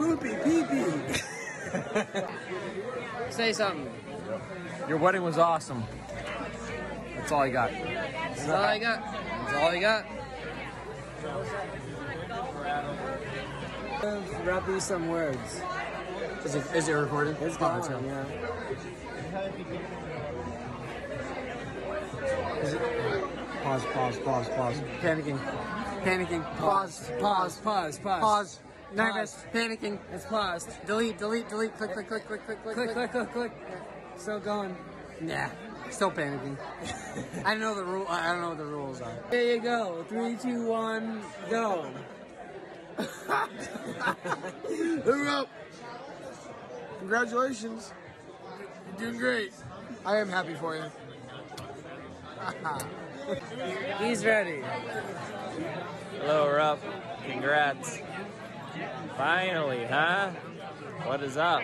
poopy, pee-pee. Say something. Your wedding was awesome. That's all I got. That's all I got. That's all I got. Rap me some words. Is it recording? It's going, yeah. Pause. Panicking. Pause. Nervous. Panicking. It's paused. Delete. Click. Click. Still going. Nah. Still panicking. I don't know the rule. I don't know what the rules are. There you go. 3, 2, 1, go. Hurry up. Congratulations. You're doing great. I am happy for you. He's ready. Hello, Rupp. Congrats. Finally, huh? What is up?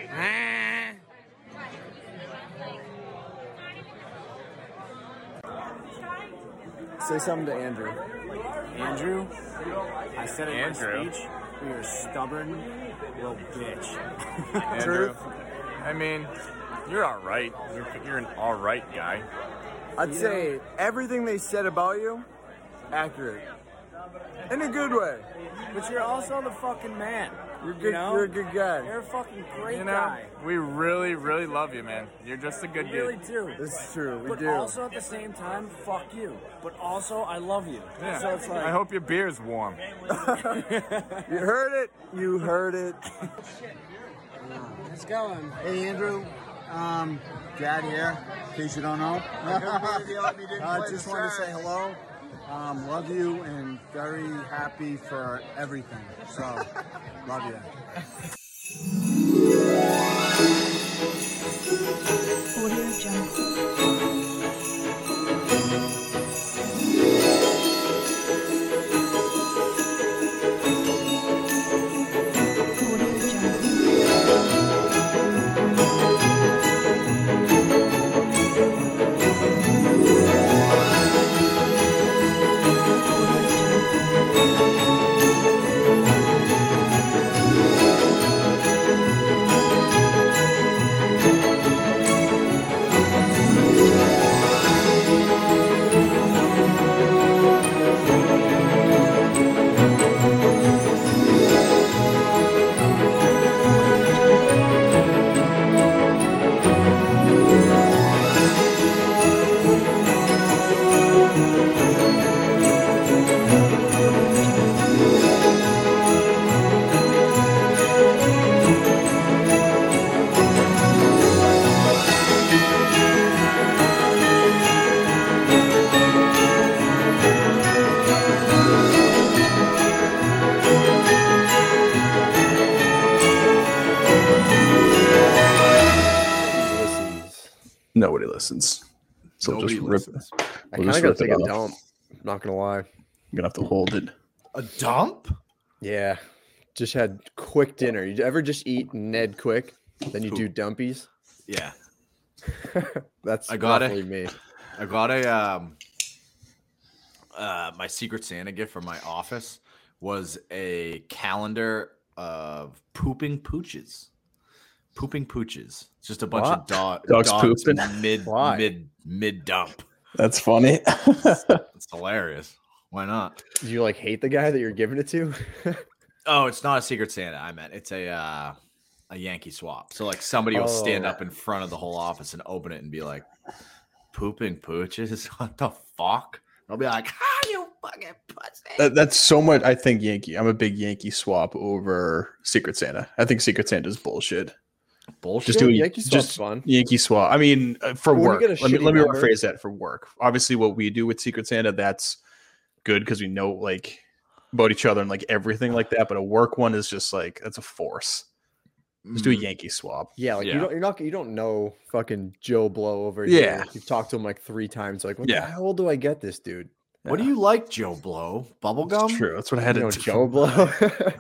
Say something to Andrew. Andrew, I said in my speech, you're a stubborn little bitch. Andrew, I mean, you're all right. You're an all right guy. I'd say everything they said about you, accurate. In a good way. But you're also the fucking man. You're good. You're a good guy. You're a fucking great guy. We really, really love you, man. You're just a good We dude. really do. This is true. We do. But also at the same time, fuck you. But also, I love you. Yeah. So it's like, I hope your beer's warm. you heard it. You heard it. It's going. Hey, Andrew. Dad here, in case you don't know. I just want to say hello. Love you and very happy for everything. So, love you. Audio Jungle. Nobody listens. So Nobody just rip listens. it. I kind of got to take a dump. I'm not going to lie. You're going to have to hold it. A dump? Yeah. Just had quick dinner. You ever just eat Ned quick? Then you do dumpies? Yeah. That's I got roughly it. me. I got a my Secret Santa gift from my office was a calendar of pooping pooches. Pooping pooches. It's just a bunch of Dogs dogs pooping? mid dump. That's funny. It's hilarious. Why not? Do you like hate the guy that you're giving it to? Oh, it's not a Secret Santa. I meant it's a Yankee swap. So like somebody will stand up in front of the whole office and open it and be like, "Pooping pooches? What the fuck?" I'll be like, "Ah, you fucking pussy." That's so much. I think Yankee. I'm a big Yankee swap over Secret Santa. I think Secret Santa is bullshit. Bullshit. Just do Yankee swap's fun. Yankee swap. I mean, for When you work. get a Let me shitty number- rephrase that. For work, obviously, what we do with Secret Santa, that's good because we know like about each other and like everything like that. But a work one is just like that's a force. Just do a Yankee swap. Yeah, like Yeah. you don't know fucking Joe Blow over here. Yeah. You've talked to him like 3 times. Like, what the Yeah. hell do I get this dude? What do you like, Joe Blow? Bubblegum? It's true. That's what I had You know, to Joe Blow.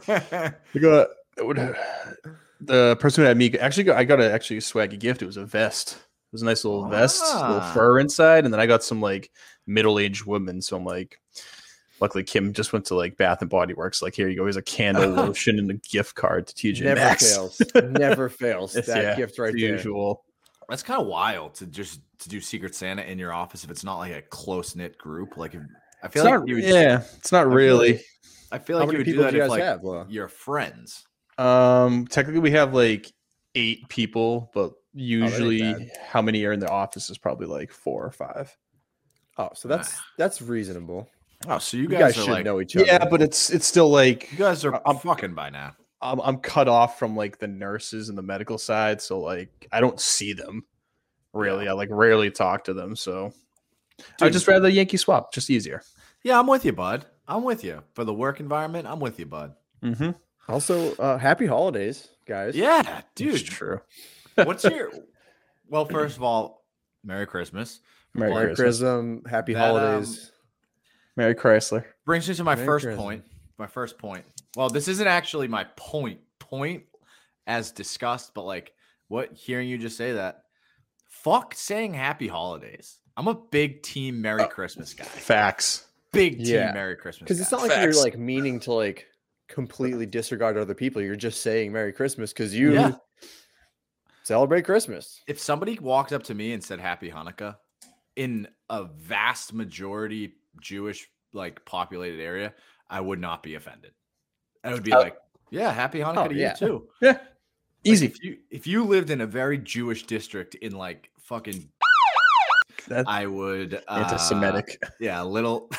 The person who had me I got a actually swaggy gift. It was a vest. It was a nice little vest, little fur inside, and then I got some like middle-aged woman. So I'm like, Luckily, Kim just went to like Bath and Body Works. Like, here you go. Here's a candle, lotion, and a gift card to TJ Never Maxx. fails. Never fails. That gift right the there. usual. That's kind of wild to do Secret Santa in your office if it's not like a close knit group. Like, I feel like you would, it's not really. I feel How like you many would do people that do you if guys like have, Laura? your friends. Technically, we have like 8 people, but usually, bad. how many are in the office is probably like 4 or 5. Oh, so that's reasonable. Oh, so you You guys, guys are should like, know each other. Yeah, but it's still like you guys are I'm fucking by now. I'm cut off from like the nurses and the medical side, so like I don't see them really. Yeah. I like rarely talk to them, so I'd Dude. just rather Yankee swap, just easier. Yeah, I'm with you, bud. I'm with you for the work environment. I'm with you, bud. Mm-hmm. Also, happy holidays, guys. Yeah, dude. It's true. What's your? Well, first of all, Merry Christmas. Merry Merry Christmas. Christmas. Happy That, holidays. Merry Chrysler. Brings me to my Merry first Christmas. point. My first point. Well, this isn't actually my point as discussed, but like hearing you just say that, fuck saying happy holidays. I'm a big team Merry Christmas guy. Facts. Big team Yeah. Merry Christmas. Because it's guy. not like Facts. you're like meaning to like completely disregard other people. You're just saying Merry Christmas because you Yeah. celebrate Christmas. If somebody walked up to me and said Happy Hanukkah in a vast majority Jewish like populated area, I would not be offended. I would be like, yeah, Happy Hanukkah to yeah. you too. Yeah. Like, Easy. if you lived in a very Jewish district in like fucking, That's I would anti-Semitic. Yeah, a little.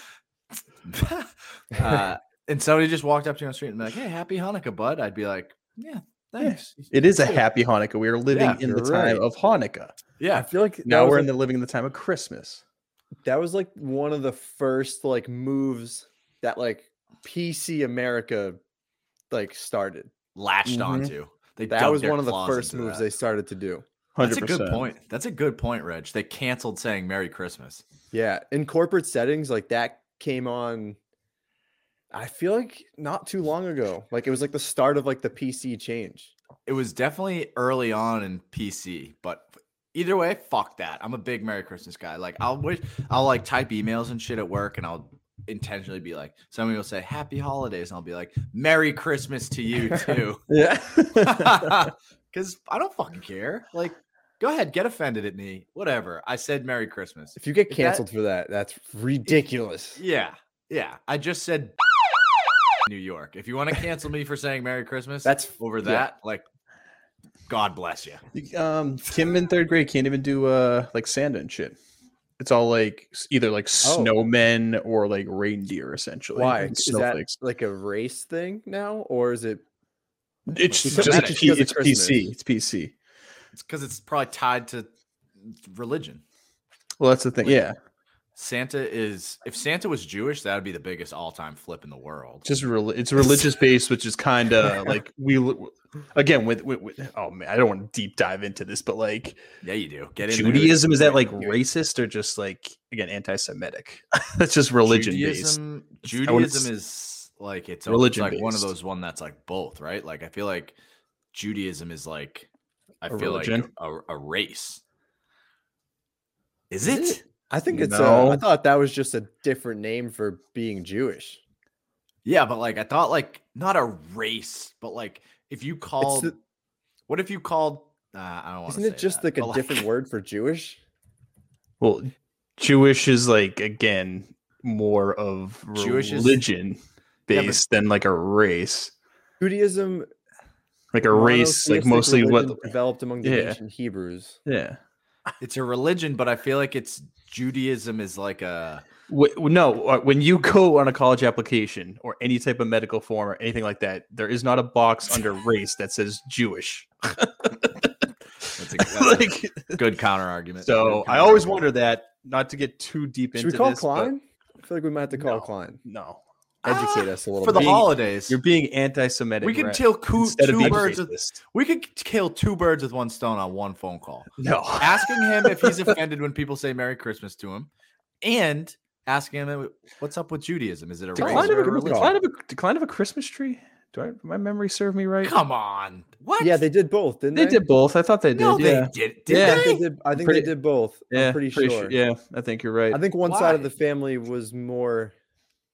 And somebody just walked up to me on the street and be like, "Hey, Happy Hanukkah, bud." I'd be like, "Yeah, thanks." It is a happy Hanukkah. We are living Yeah, in the you're time right. of Hanukkah. I Yeah, feel like Now we're in living in the time of Christmas. that was like one of the first like moves that like PC America like started. latched Mhm. onto. They That dug was their one of the claws first into moves that. they started to do. 100%. That's a good point. That's a good point, Reg. They canceled saying Merry Christmas. Yeah, in corporate settings, like that came on. I feel like not too long ago. Like it was like the start of like the PC change. It was definitely early on in PC, but either way, fuck that. I'm a big Merry Christmas guy. Like I'll like type emails and shit at work, and I'll intentionally be like, somebody will say Happy Holidays, and I'll be like, Merry Christmas to you too. Yeah. Because I don't fucking care. Like, go ahead, get offended at me. Whatever. I said Merry Christmas. If you get If that- canceled for that, that's ridiculous. Yeah. Yeah. I just said New York. If you want to cancel me for saying Merry Christmas, That's over yeah. that. Like, God bless you. Kim in 3rd grade can't even do like Santa and shit. It's all like either like snowmen or like reindeer essentially. Why? and Is that snowflakes. like a race thing now, or is it? It's because- just just because it's of Christmas? PC. It's PC. It's because it's probably tied to religion. Well, that's the thing. Yeah, If Santa was Jewish, that would be the biggest all-time flip in the world. just it's religious based, which is kind of like again with oh man, I don't want to deep dive into this, but like Yeah, you do. Get into it. Judaism, is that like racist or just like again anti-Semitic? That's just religion based. Judaism is like it's Religion like one of based. those one that's like both, right? Like I feel like Judaism is like I A feel religion? like a race. Is Is it? it? I think it's. No. I thought that was just a different name for being Jewish. Yeah, but like I thought like not a race, but like if you called the- what if you called I don't want to Isn't it just like a different word for Jewish? Well, Jewish is like again more of Jewish is- religion Yeah, but- based than like a race. Judaism, Like a race, like monotheistic mostly what? religion developed among the Yeah. ancient Hebrews. Yeah. It's a religion, but I feel like it's Judaism is like a No, when you go on a college application or any type of medical form or anything like that, there is not a box under race that says Jewish. that's Like, a good counter argument. so I always wonder that, not to get too deep Should into we call this, but Klein? I feel like we might have to call No. Klein. No, Educate us a little for the bit. holidays. you're being anti-Semitic. We could right? kill Instead of two being birds with racist. we could kill two birds with one stone on one phone call. No, Asking him if he's offended when people say Merry Christmas to him, and asking him what's up with Judaism. Is it a race decline of or a, a religion? decline of a Christmas tree. Do my memory serve me right? Come on, what? Yeah, they did both, didn't They they? did both. I thought they did. No, yeah. they did. Yeah. Did I think Pretty- they did both. Yeah, I'm pretty sure. Yeah, I think you're right. I think one side of Why? the family was more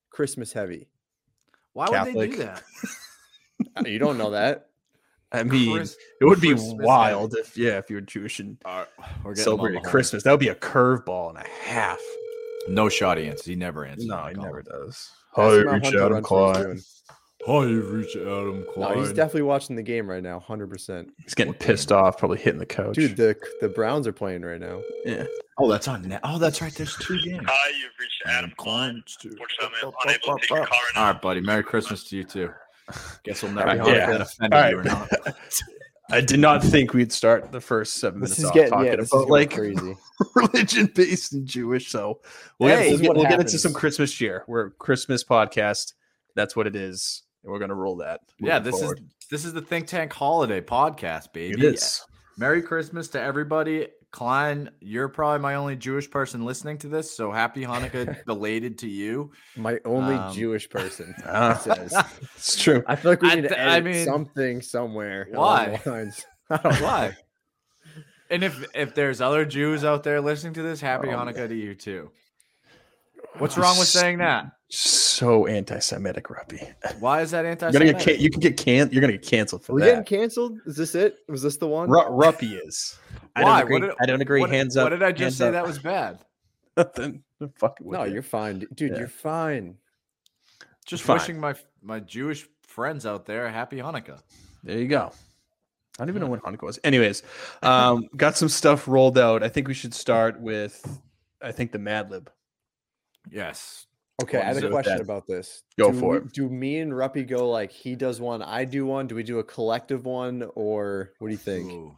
Christmas heavy? Why would they Catholic. do that? You don't know that. I mean, Chris- it would be Christmas wild if you were Jewish and We're getting them on celebrated the horn. Christmas. That would be a curveball and a half. No shot he answers. He never answers. No, when I he call never him. does. Ask him how Hunter Renfro's doing. Hi, you've reached Adam Klein. No, he's definitely watching the game right now, 100%. He's getting pissed off, probably hitting the couch. Dude, the Browns are playing right now. yeah. Oh, that's on net. Oh, that's right. There's 2 games. Hi, you've reached Adam Klein. Unfortunately, I'm unable to take your call right now. All right, buddy. Merry Christmas to you too. Guess we'll never All know right, if yeah. that offended All you or right. not. I did not think we'd start the first 7 minutes This is off getting talking this is about going like crazy. religion based and Jewish. So we'll, Hey, this is what get into happens. some Christmas cheer. We're a Christmas podcast. That's what it is. And we're gonna roll that. Yeah, moving forward. this is the Think Tank Holiday Podcast, baby. It is. Merry Christmas to everybody. Klein, you're probably my only Jewish person listening to this, so happy Hanukkah belated to you. My only Um, Jewish person. Ah, says. it's true. I feel like we I need to th- I edit mean, something somewhere. why? along the lines. I don't know. Why? And if there's other Jews out there listening to this, happy Oh, Hanukkah to you too. What's wrong with saying that? So anti-Semitic, Ruppy. Why is that You're anti? gonna get you can get You're gonna get canceled for Are we getting that. canceled? Is this it? Was this the one? Ruppy is. I Why? don't agree. What did- I don't agree. What, Hands up. What did I just hands say up. that was bad? Then fuck it with No, you. you're fine, dude. Yeah. You're fine. Just Fine. wishing my Jewish friends out there a happy Hanukkah. There you go. I don't even know when Hanukkah was. Anyways, got some stuff rolled out. I think we should start with, the Mad Lib. Yes. Okay, I What had is a it with question that? about this. Go do for we- it. Do me and Ruppy go like he does one, I do one? Do we do a collective one, or what do you think? Ooh.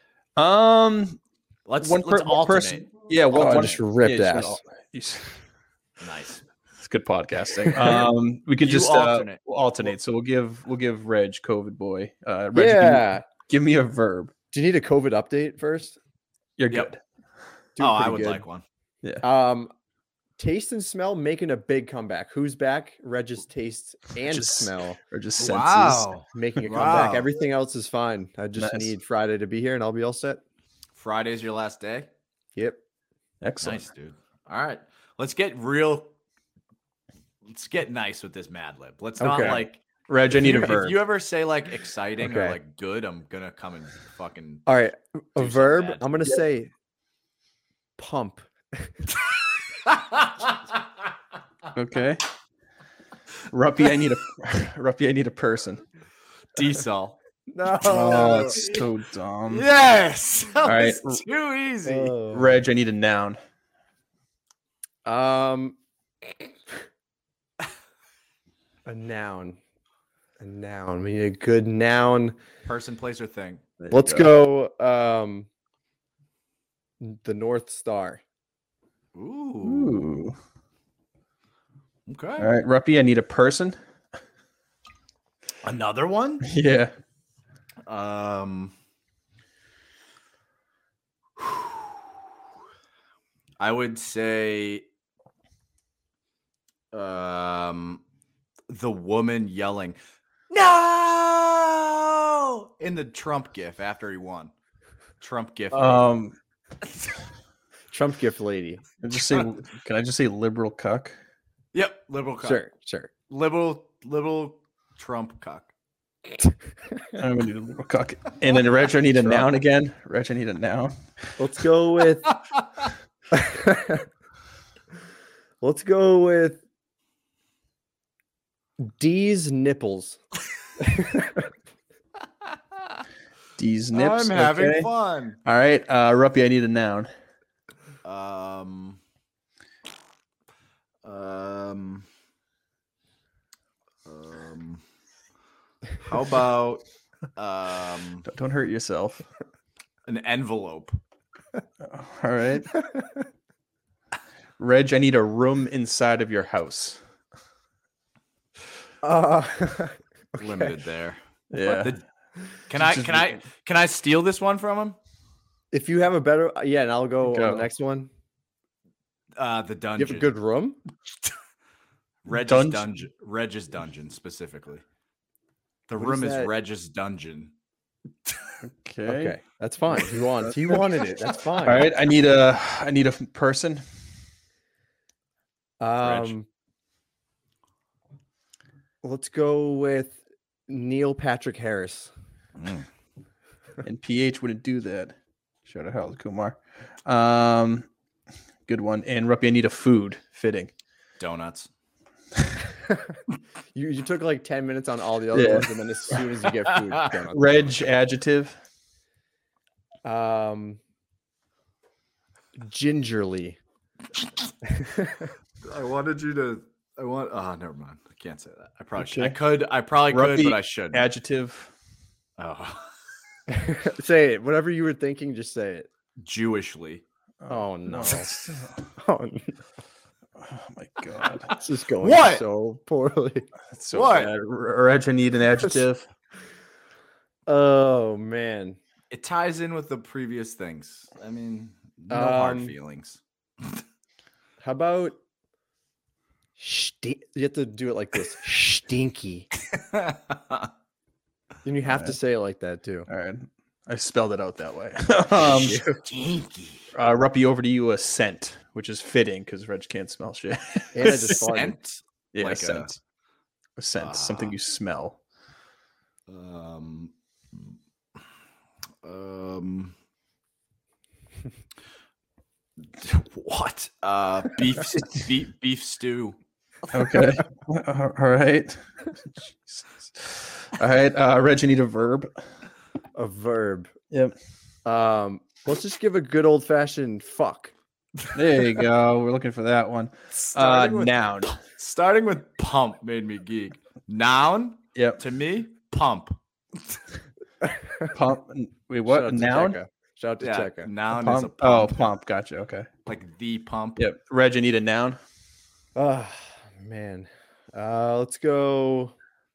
Let's Let's one alternate. person. Yeah, Oh, I one just ripped yeah, ass. Nice. It's good podcasting. We could You just alternate. we'll alternate. So we'll give Reg COVID boy. Reg, Yeah. give me a verb. Do you need a COVID update first? You're Yep. good. Doing I pretty would good. like one. Taste and smell making a big comeback. Who's back? Regis taste and Just smell Or just senses. Wow. making a Wow. comeback. Everything else is fine. I just Nice. need Friday to be here and I'll be all set. Friday's your last day. Yep. Excellent. Nice, dude. All right. Let's get nice with this Mad Lib. Let's not Okay. like Reg, I need a if verb. you ever say like exciting or Okay. like good, I'm gonna come and fucking All right. A Do something verb. bad. I'm gonna say pump. Okay. Ruppy, I need a person. Diesel. No. Oh, that's so dumb. Yes. That right. was too easy. Reg, I need a noun. A noun. A noun. We need a good noun. Person, place, or thing. There you Let's go. The North Star. Ooh. Ooh. Okay. All right, Ruppy, I need a person. Another one? Yeah. I would say the woman yelling no in the Trump gif after he won. Trump gif. Trump gift lady. Can I just say liberal cuck? Yep, liberal cuck. Sure. Liberal Trump cuck. I'm gonna need a liberal cuck. And then Reg, I need a noun again. Reg, I need a noun. Let's go with D's nipples. D's nips. I'm having okay. fun. All right, Ruppy, I need a noun. How about Don't hurt yourself. an envelope? All right. Reg, I need a room inside of your house. Limited there. Yeah. Can I steal this one from him? If you have a better, and I'll go Go. on the next one. The dungeon. You have a good room. Reg's dungeon specifically. The What room is is that? Reg's dungeon. Okay, that's fine. He wanted it. That's fine. All right. I need a person. Let's go with Neil Patrick Harris. And PH wouldn't do that. Shout out Harold Kumar. Good one. And Ruppy, I need a food. Fitting. Donuts. You took like 10 minutes on all the other ones, and then as soon as you get food, donuts. Reg, adjective. Gingerly. I wanted you to. Oh, never mind. I can't say that. I probably should. Okay. I could. I probably Ruppy, could, but I shouldn't. Adjective. Oh. Say it. Whatever you were thinking, just say it. Jewishly. Oh no. Oh, no. Oh my god. This is going What? so poorly. That's so What? bad. Reg, I need an adjective. Oh man. It ties in with the previous things. I mean, no hard feelings. How about you have to do it like this. Stinky. And you have to say it like that too. All right. I spelled it out that way. Stinky. Ruppy, over to you. A scent, which is fitting because Reg can't smell shit. And I just farted. Scent? Yeah, Like a scent. A scent, something you smell. What? Beef stew. Okay. All right. Jesus. All right. Reg, I need a verb. A verb. Yep. Let's just give a good old fashioned fuck. There you go. We're looking for that one. Noun. Starting with pump made me geek. Noun. Yep. To me, pump. Pump. Wait, what? Noun? Shout out to Cheka. Noun Pump. is a pump. Oh, pump. Gotcha. Okay. Like the pump. Yep. Reg, I need a noun. Oh man. Let's go.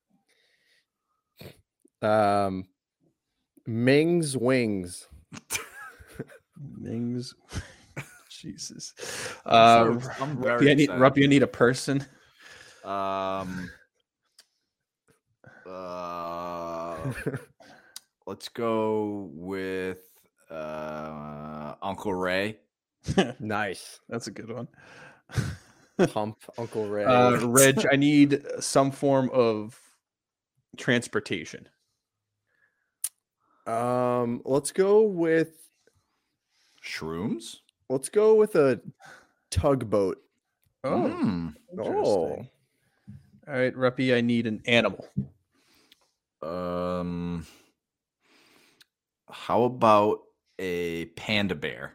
Ming's wings. Ming's. Jesus. I'm very Ruppy, I need a person. Let's go with Uncle Ray. Nice. That's a good one. Pump Uncle Ray. Reg, I need some form of transportation. Let's go with Shrooms. Let's go with a tugboat. Oh. Oh. All right, Ruppy, I need an animal. How about a panda bear?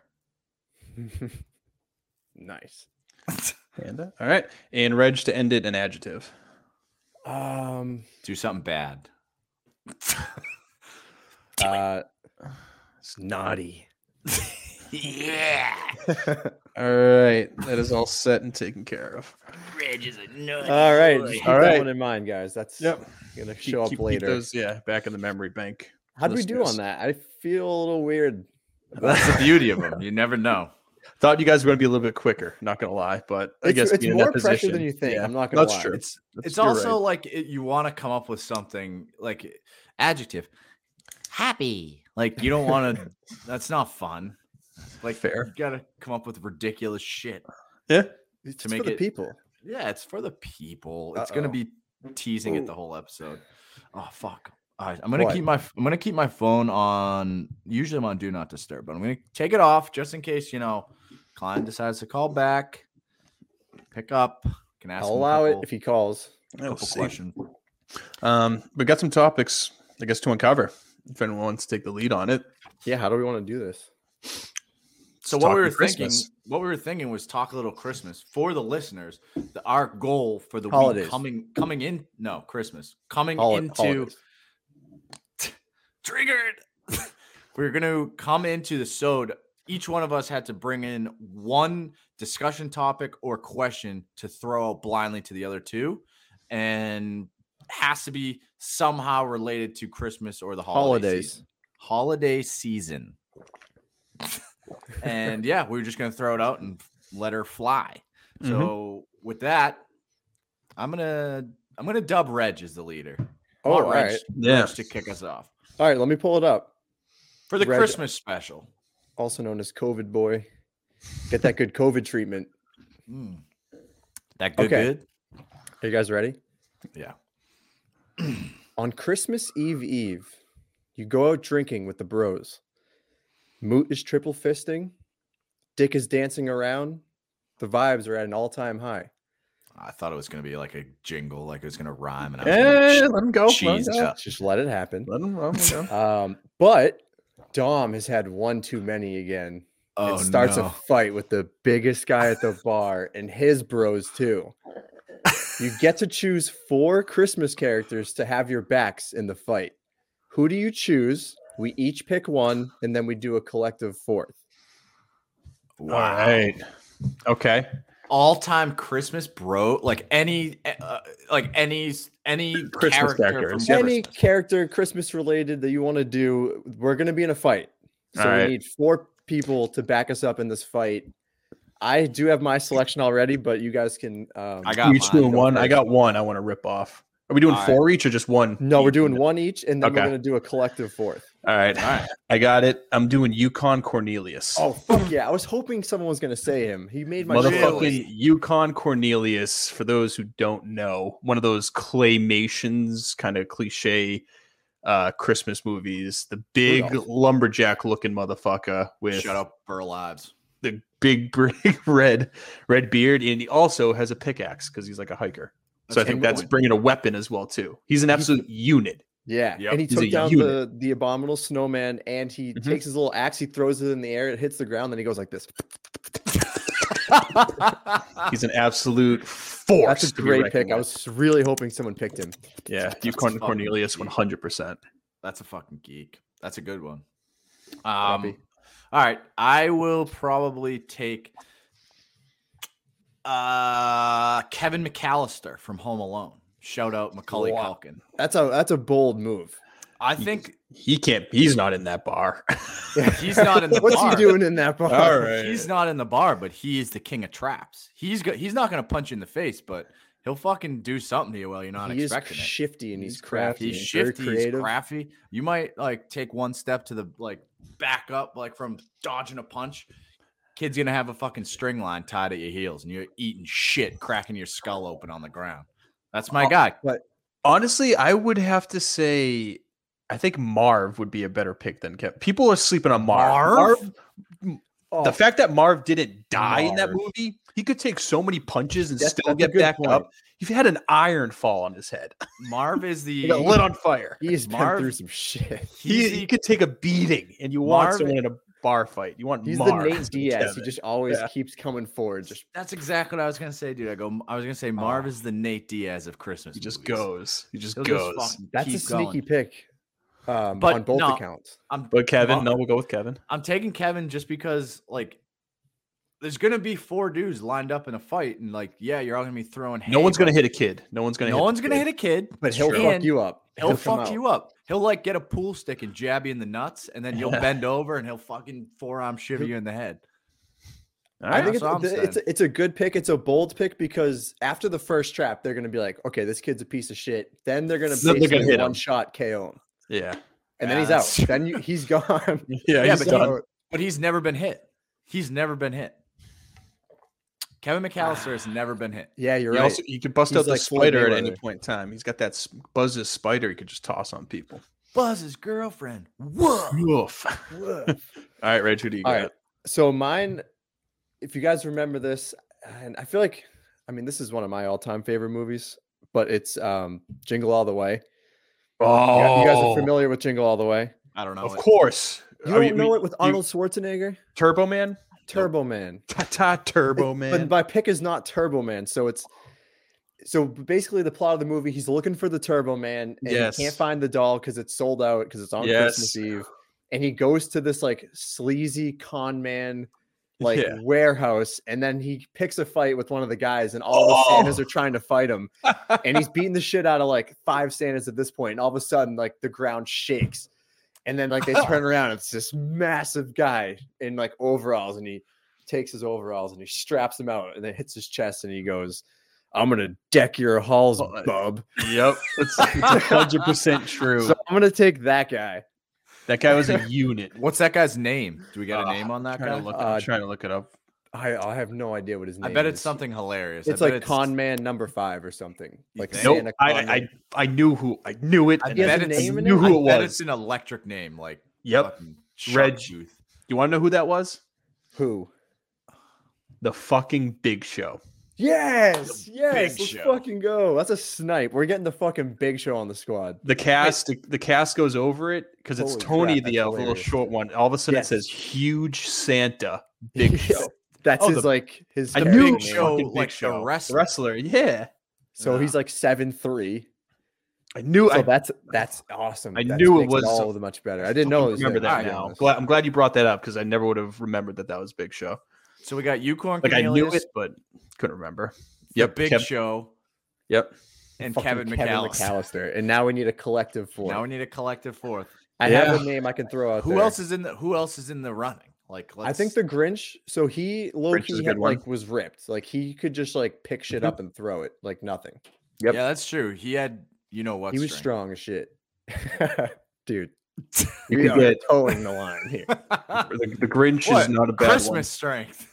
Nice. Panda. All right. And Reg, to end it, an adjective. Do something bad. Snotty. Yeah. All right. That is all set and taken care of. Reg is a nut. All right. Just keep All that right. one in mind, guys. That's Yep. gonna show up later. Keep those, back in the memory bank. How did we do on that? I feel a little weird. That's the beauty of them. You never know. Thought you guys were going to be a little bit quicker. Not going to lie, but I guess it's being in more that pressure position, than you think. yeah, I'm not gonna that's lie. true. It's You're also right. like you want to come up with something like adjective happy. Like you don't want to. That's not fun. Like Fair. You got to come up with ridiculous shit. Yeah. It's to make for the it people. Yeah, it's for the people. It's gonna be teasing it the whole episode. Oh fuck. All right, I'm gonna keep my phone on. Usually I'm on do not disturb, but I'm gonna take it off just in case client decides to call back. Pick up. Can ask. I'll allow it if he calls. Couple questions. We got some topics, I guess, to uncover. If anyone wants to take the lead on it. Yeah, how do we want to do this? So what we were thinking was talk a little Christmas for the listeners. Our goal for the Holidays. week coming in. No, Christmas coming into. Holidays. Triggered. We're going to come into the sode. Each one of us had to bring in one discussion topic or question to throw out blindly to the other two, and has to be somehow related to Christmas or the holidays. Holiday season. And yeah, we were just going to throw it out and let her fly. So with that, I'm gonna dub Reg as the leader. All Reg, right. Reg to kick us off. All right, let me pull it up. For the Reg, Christmas special. Also known as COVID boy. Get that good COVID treatment. That good. Are you guys ready? Yeah. On Christmas Eve, you go out drinking with the bros. Moot is triple fisting. Dick is dancing around. The vibes are at an all-time high. I thought it was going to be like a jingle, like it was going to rhyme. And let him go. Just let it happen. Let him go. But Dom has had one too many again. Oh, and starts no. a fight with the biggest guy at the bar and his bros too. You get to choose 4 Christmas characters to have your backs in the fight. Who do you choose? We each pick one, and then we do a collective 4th. Wow. All right. Okay. All-time Christmas bro, like any Christmas character characters. from Any Christmas. character Christmas related that you want to do, we're going to be in a fight. So All right. we need 4 people to back us up in this fight. I do have my selection already, but you guys can. I got You each mine. doing Go one. I first. got one. I want to rip off. Are we doing All 4 each or just one? No, we're each? doing one each, and then Okay. we're going to do a collective 4th. All right. All right. I got it. I'm doing Yukon Cornelius. Oh, fuck yeah. I was hoping someone was going to say him. He made my Motherfucking Yukon Cornelius, for those who don't know, one of those claymations, kind of cliche Christmas movies. The big Rudolph. lumberjack looking motherfucker with Shut up, Burl Lives. the big red beard, and he also has a pickaxe because he's like a hiker. So I think that's bringing a weapon as well too. He's an absolute unit. Yeah, Yep. and he He's took a down unit. the abominable snowman, and he takes his little axe, he throws it in the air, it hits the ground, then he goes like this. He's an absolute force. That's a to be great reckoned pick. I with. was really hoping someone picked him. Yeah, Yukon fucking Cornelius, geek. 100%. That's a fucking geek. That's a good one. Happy. All right, I will probably take Kevin McAllister from Home Alone. Shout out Macaulay Wow. Culkin. That's a bold move. I think He can't. He's not in that bar. he's not in the What's bar. he doing in that bar? All right. He's not in the bar, but he is the king of traps. He's not going to punch you in the face, but he'll fucking do something to you while you're not He is expecting it. shifty and he's crafty. He's and very shifty, he's creative. crafty. You might like take one step to the back up, like from dodging a punch. Kid's gonna have a fucking string line tied at your heels, and you're eating shit, cracking your skull open on the ground. That's my guy. But Honestly, I would have to say, I think Marv would be a better pick than Kevin. People are sleeping on Marv. oh, The fact that Marv didn't die in that Marv. movie, he could take so many punches and That's- still that's a get good back point. up. He had an iron fall on his head. Marv is He the got lit on fire. he's been Marv- through some shit. He could take a beating, and you want Marv- someone in a bar fight. You want He's Marv the Nate and Diaz. He Kevin. just always Yeah. keeps coming forward. Just That's exactly what I was gonna say, dude. I was gonna say Marv is the Nate Diaz of Christmas. He just movies. goes. He just He'll goes. fucking that's a keep sneaky going. pick. But On both no, accounts. But Kevin, Mar- no, we'll go with Kevin. I'm taking Kevin just because like there's gonna be 4 dudes lined up in a fight, and like yeah, you're all gonna be throwing. No one's hay, gonna but hit a kid. No one's gonna. No hit one's the gonna kid. hit a kid, But he'll true. fuck And you up. He'll come fuck out. you up. He'll like get a pool stick and jab you in the nuts, and then you'll bend over and he'll fucking forearm shiver you in the head. All I right. think That's what I'm it's a good pick. It's a bold pick because after the first trap, they're gonna be like, okay, this kid's a piece of shit. Then they're gonna Then they're gonna basically hit him. one shot KO him, Yeah. and Yeah, then he's that's out. Then he's gone. Yeah. Yeah, He's but done. But he's never been hit. He's never been hit. Kevin McAllister has never been hit. Yeah, you're He right. also you could bust He's out the like Floyd spider at any Mayweather. point in time. He's got that Buzz's spider he could just toss on people. Buzz's girlfriend. Whoa. Woof. All right, Reg, who do you All got? right. So mine, if you guys remember this, and I feel like, I mean, this is one of my all-time favorite movies, but it's Jingle All the Way. Oh, You guys are familiar with Jingle All the Way? I don't know. Of it. course. You don't know it with Arnold Schwarzenegger? Turbo Man? Turbo Man. Ta Turbo Man. But my pick is not Turbo Man. So basically the plot of the movie, he's looking for the Turbo Man and Yes. he can't find the doll because it's sold out because it's on Yes. Christmas Eve. And he goes to this like sleazy con man like Yeah. warehouse, and then he picks a fight with one of the guys, and all the Santas are trying to fight him. And he's beating the shit out of like 5 Santas at this point, and all of a sudden, like the ground shakes. And then like they turn around, it's this massive guy in like overalls, and he takes his overalls and he straps them out and then hits his chest and he goes, "I'm gonna deck your halls, bub." Yep. It's 100% true. So I'm gonna take that guy. That guy was a unit. What's that guy's name? Do we got a name on that guy? I'm trying to look it up. I have no idea what his name I is. bet it's something hilarious. It's like Con Man #5 or something. Like think? Santa Nope. Con Man. I knew who. I knew it. I and bet a it's, name in knew it? who I it bet was. it's an electric name, like Yep. fucking Reg. Sharktooth. You want to know who that was? Who? The fucking Big Show. Yes, yes. Big Let's Show. fucking go. That's a snipe. We're getting the fucking Big Show on the squad. The cast goes over it because it's Holy Tony, crap, the that's little hilarious. short one. All of a sudden Yes. it says "Huge Santa Big Show." That's Oh, his the- like his. I The knew Big it. Show, Fucking Big like Show. the wrestler. Wrestler, yeah. So he's like 7'3". I knew. So I that's awesome. I That knew it makes was- all the much better. I didn't know it was remember him, that to be now. honest. I'm glad you brought that up because I never would have remembered that was Big Show. So we got Yukon Like I knew Cornelius, it, but couldn't remember. the Yep, Big Show, Yep. and Fucking Kevin McAllister. And now we need a collective four. Now we need a collective fourth. I have a name I can throw out Who there. else is in the running? Like I think the Grinch. So he low Grinch is a key good one. like was ripped. Like he could just like pick shit up and throw it like nothing. Yep. Yeah, that's true. He had what He was strength. strong as shit, dude. You We could are get towing the line here. the Grinch What? is not a bad Christmas strength.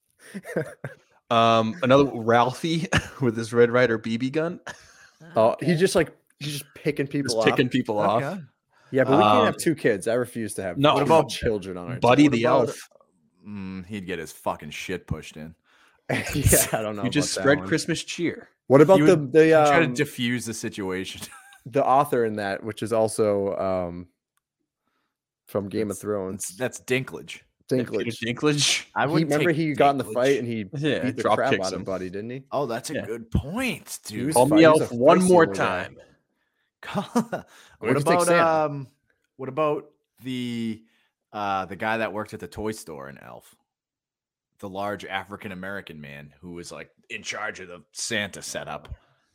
one. Another Ralphie with his Red Ryder BB gun, Oh, he's just picking people just off. picking people off. Okay. Yeah, but we can't have Um, 2 kids. I refuse to have. no, two what about children on our Buddy team. the about- Elf. He'd get his fucking shit pushed in. Yeah, I don't know. You just about that spread one. Christmas cheer. What about He the would the Try to um, diffuse the situation. the author in that, which is also from Game of Thrones, That's Dinklage. Peter Dinklage. Dinklage. I He, would remember he got in the fight and he Yeah, beat the drop crap kicks out of him. Buddy, didn't he? Oh, that's a Yeah. good point, He dude. was Call fi- me he out was a one feisty more little guy. time. what could take about Santa. what about the guy that worked at the toy store in Elf? The large African American man who was like in charge of the Santa setup.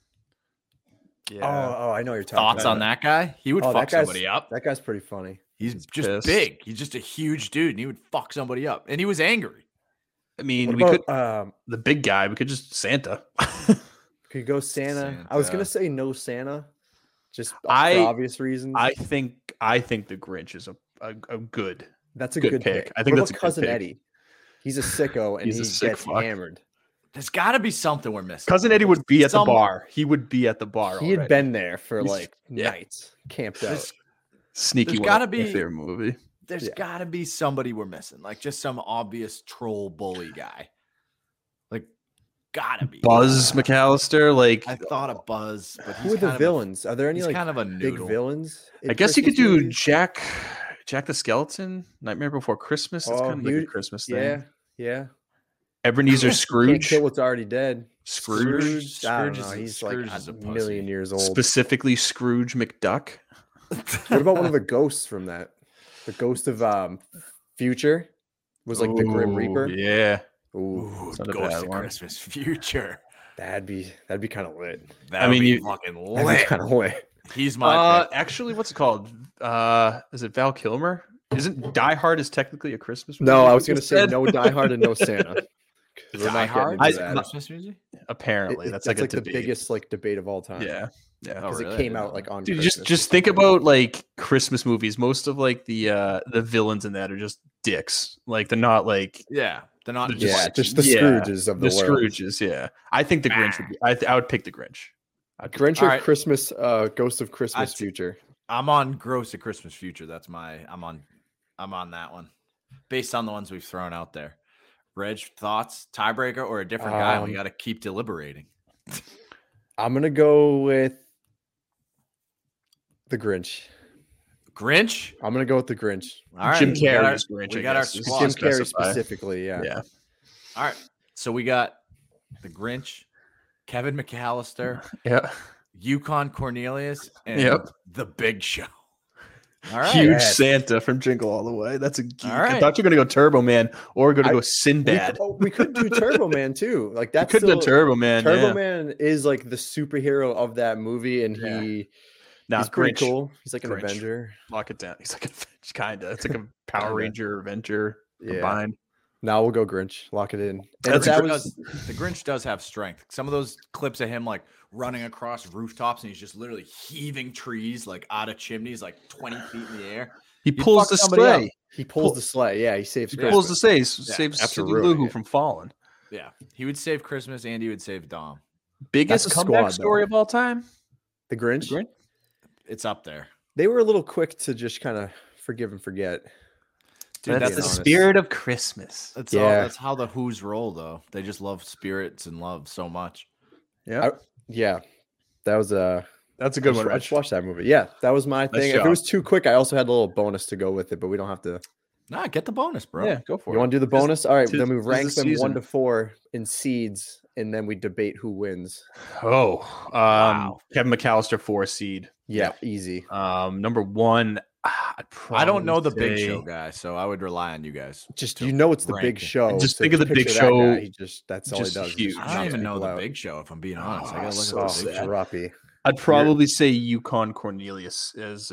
Oh, I know what you're talking Thoughts about. on that guy? He would Oh, fuck that guy's- somebody up. That guy's pretty funny. He's just pissed. big. He's just a huge dude, and he would fuck somebody up. And he was angry. I mean, What we about, could the big guy. We could just Santa. could go Santa. I was gonna say no Santa, just for I- obvious reasons. I think the Grinch is a good. That's a good good pick. pick. I think What that's about a good cousin pick. Eddie. He's a sicko and He's he a sick gets fuck. hammered. There's got to be something we're missing. Cousin Eddie would be at the Some- bar. He would be at the bar. He had already. been there for He's- like yeah. nights, camped out. There's, Sneaky. there's one gotta of my be- favorite movie. there's Yeah. got to be somebody we're missing, like just some obvious troll bully guy. Like, gotta be Buzz McAllister. Like I thought of Buzz, but Who he's are the kind villains? Are there Of any he's like kind of a big noodle. villains? in I guess you could Christmas do movies? Jack the Skeleton, Nightmare Before Christmas. That's Oh, kind of like he a would- Christmas thing. Yeah, yeah. Ebenezer Can't Scrooge, kill what's already dead. Scrooge, I don't Scrooge know. is a- He's Scrooge like is a a pussy. million years old. specifically Scrooge McDuck. What about one of the ghosts from that? The ghost of Future was like the Grim Ooh, Reaper. Yeah, Ooh, Ooh, It's not a Ghost bad of one. Christmas Future. that'd be kind of lit. That mean, would be you- fucking That'd be lit. kind of lit. He's my pick. actually, what's it called? Is it Val Kilmer? Isn't Die Hard is technically a Christmas movie? No, I was you gonna say said? no Die Hard and no Santa. 'Cause we're Die not Hard getting is into a that. Christmas music. Apparently, that's like a the debate. biggest like debate of all time. Yeah, Oh, because really? it I came didn't out know like that. on. dude, Christmas just or think something. about like Christmas movies. Most of like the villains in that are just dicks. Like they're not like Yeah, they're not. They're Yeah, just- just the yeah, Scrooges of the the, world. Scrooges. Yeah, I think the Grinch would be. I would pick the Grinch. Grinch All or right. Christmas, Ghost of Christmas Future. I'm on Gross of Christmas Future. That's my. I'm on that one, based on the ones we've thrown out there. Reg, thoughts? Tiebreaker or a different guy? We got to keep deliberating. I'm gonna go with the Grinch. Grinch. I'm gonna go with the Grinch. All right, Jim we got our- Carrey's Grinch. We I got our guess, is squad. Jim to Carrey specify. specifically, yeah. Yeah. All right, so we got the Grinch, Kevin McAllister, Yeah. Yukon Cornelius, and Yep. the Big Show. All right, Huge Yes. Santa from Jingle All the Way. That's a geek. All I right. thought you were gonna go Turbo Man or gonna I- go Sinbad. We could do Turbo Man too. Like You that's could still, do Turbo Man. Turbo yeah. Man is like the superhero of that movie, and Yeah. he's Nah, pretty Grinch. cool. He's like an Grinch. Avenger. Lock it down. He's like a kinda. It's like a Power Kinda. Ranger Avenger Yeah. combined. Now we'll go Grinch. Lock it in. And That's that a was The Grinch does have strength. Some of those clips of him like running across rooftops and he's just literally heaving trees like out of chimneys, like 20 feet in the air. He You'd pulls fuck the somebody up. sleigh. he pulls the sleigh. Yeah, he saves He Christmas. pulls the sleigh. Saves after Cindy ruining Lou Who it. from falling. Yeah, he would save Christmas and he would save Dom. Biggest That's a comeback squad, story though. of all time. The Grinch. It's up there. They were a little quick to just kind of forgive and forget. Dude, That's that's the honest. spirit of Christmas. That's Yeah. that's how the Who's roll though. They just love spirits and love so much. Yeah, Yeah, that was that's a good one. I Rich. just watched that movie. Yeah, that was my Nice thing. If job. it was too quick, I also had a little bonus to go with it, but we don't have to. Nah, get the bonus, bro. Yeah, go for You it. want to do the bonus? All right, tis- then we tis rank the them 1 season. to 4 in seeds, and then we debate who wins. Oh, Wow. Kevin McAllister 4 seed. Yeah, easy. Number 1. I'd I don't know the probably Big say- Show guy, so I would rely on you guys. Just to you know it's the rank Big it. Show. Just so think of the Big picture that Show, guy, he that's all he just does. is huge. just I don't knock even know people the out. Big Show if I'm being honest. I Oh, gotta look so at the sad. Big Show. Droppy. I'd probably say Yukon Cornelius as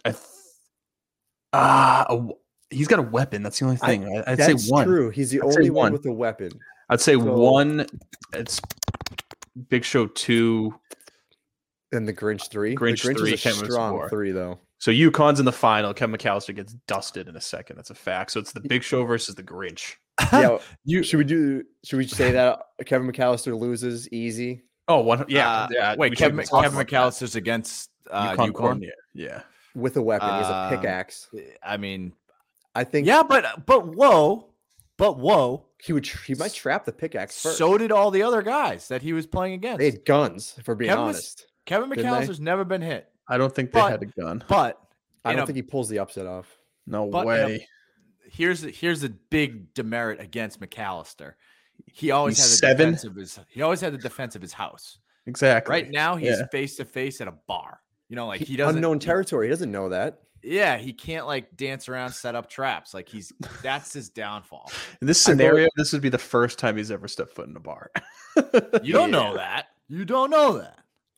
he's got a weapon. That's the only thing. I'd say That's one. true. He's the I'd say only one one. with a weapon. I'd say So- one. It's Big Show 2. And the Grinch 3. Grinch the Grinch 3, is a Kevin's strong 4. 3, though. So Yukon's in the final. Kevin McAllister gets dusted in a second. That's a fact. So it's the Big Show versus the Grinch. Yeah, should we say that Kevin McAllister loses easy? Oh, one. Yeah. Yeah. Wait, we Kevin, should talk Kevin about that. McAllister's against Yukon Yukon. Corn. Yeah. With a weapon. He has a pickaxe. I mean, I think yeah, but whoa, he might trap the pickaxe first. so did all the other guys that he was playing against. They had guns, if we're being Kevin honest. Kevin didn't they? McAllister's never been hit, I don't think they But- had a gun. but I in don't a- think he pulls the upset off. No but in a- way. here's the big demerit against McAllister. He always He's had the 7? defense of his house. Exactly. Right now, he's Yeah. face to face at a bar. You know, like he doesn't Unknown territory. He doesn't know that. Yeah, he can't like dance around, set up traps. Like that's his downfall. In this I thought- scenario, this would be the first time he's ever stepped foot in a bar. You don't know that. You don't know that.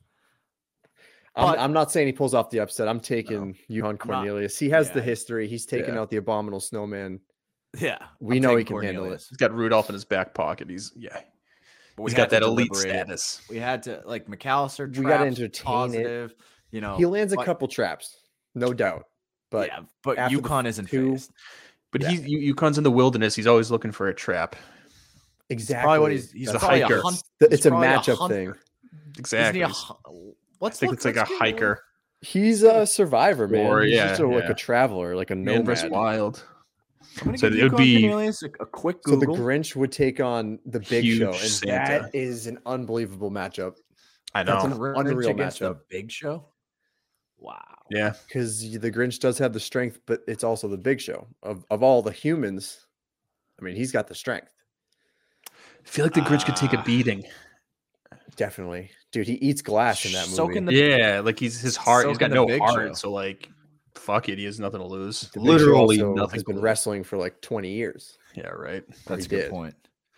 But- I'm not saying he pulls off the upset. I'm taking Yukon Cornelius. He has the yeah. history. He's taken Yeah. out the abominable snowman. Yeah, We I'm know he taking can handle it. Cornelius. He's got Rudolph in his back pocket. But He's we got had to that elite deliberate it. status. We had to like McAllister. We gotta traps, entertain it. positive, You know, He lands a but- couple traps, no doubt. But yeah, but after the Yukon isn't two- phased. But Yeah. Yukon's in the wilderness. He's always looking for a trap. exactly, Probably what he's a probably hiker. a hunt. it's he's a probably matchup hunter. thing. Isn't Exactly. he a, I let's think look, it's like a let's get hiker. He's a survivor, man. Or, He's yeah, just like yeah. a traveler, like a Man vs. nomad. Wild. I'm gonna So give it would Yukon be Cornelius a quick So the Google. Grinch would take on the Big Huge Show, and Santa. that is an unbelievable matchup I That's know. an Grinch unreal against the matchup. Big Show. Wow. Yeah. because the Grinch does have the strength, but it's also the Big Show of all the humans. I mean, he's got the strength, I feel like the Grinch could take a Ah. beating. definitely, dude. He eats glass in that movie. Soaking the- Yeah, like his heart. He's Soaking got the no Big heart, Show. so like, fuck it. He has nothing to lose. The Big Show Literally also nothing. has to been lose. wrestling for like 20 years. Yeah, right. That's a he good did. point.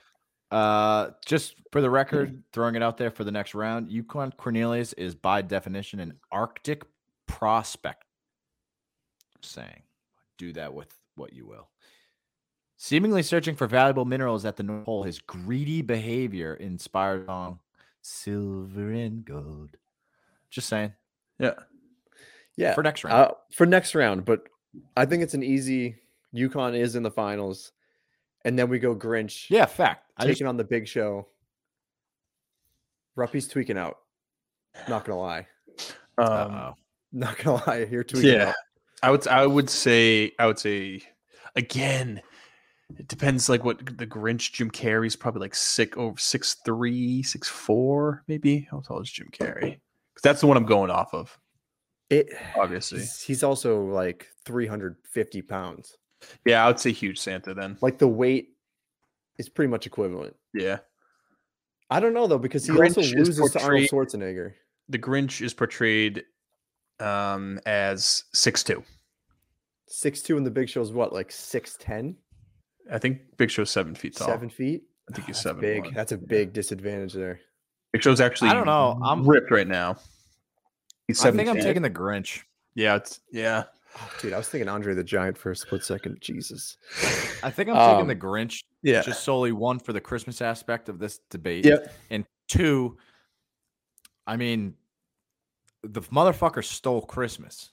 Just for the record, throwing it out there for the next round, Yukon Cornelius is by definition an Arctic prospect. Saying, do that with what you will. Seemingly searching for valuable minerals at the North Pole, his greedy behavior inspired song "Silver and Gold." Just saying. Yeah. Yeah, For next round. for next round, but I think it's an easy. Yukon is in the finals, and then we go Grinch. Yeah, fact. I taking just, on the Big Show. Ruppy's tweaking out. Not gonna lie. uh-oh. Not gonna lie. You're tweaking Yeah. out. I would say again. It depends, like what the Grinch. Jim Carrey's probably like 6'3", 6'4", maybe. How tall is Jim Carrey? Because that's the one I'm going off of. Obviously, He's also like 350 pounds. yeah. I would say huge Santa then. Like the weight is pretty much equivalent. Yeah, I don't know though, because he Grinch also is loses to Arnold portrayed- Schwarzenegger. the Grinch is portrayed as 6'2". 6'2", and the Big Show's what, like 6'10", I think Big Show's 7 feet tall. 7 feet. I think he's That's 7'1". big. That's a big disadvantage there. Big Show's actually. I don't know. I'm ripped right now. He's I think I'm 7'10". taking the Grinch. Yeah, it's yeah. Oh, dude, I was thinking Andre the Giant for a split second. Jesus. I think I'm taking the Grinch. Yeah. Just solely one for the Christmas aspect of this debate. Yep. And two, I mean, the motherfucker stole Christmas.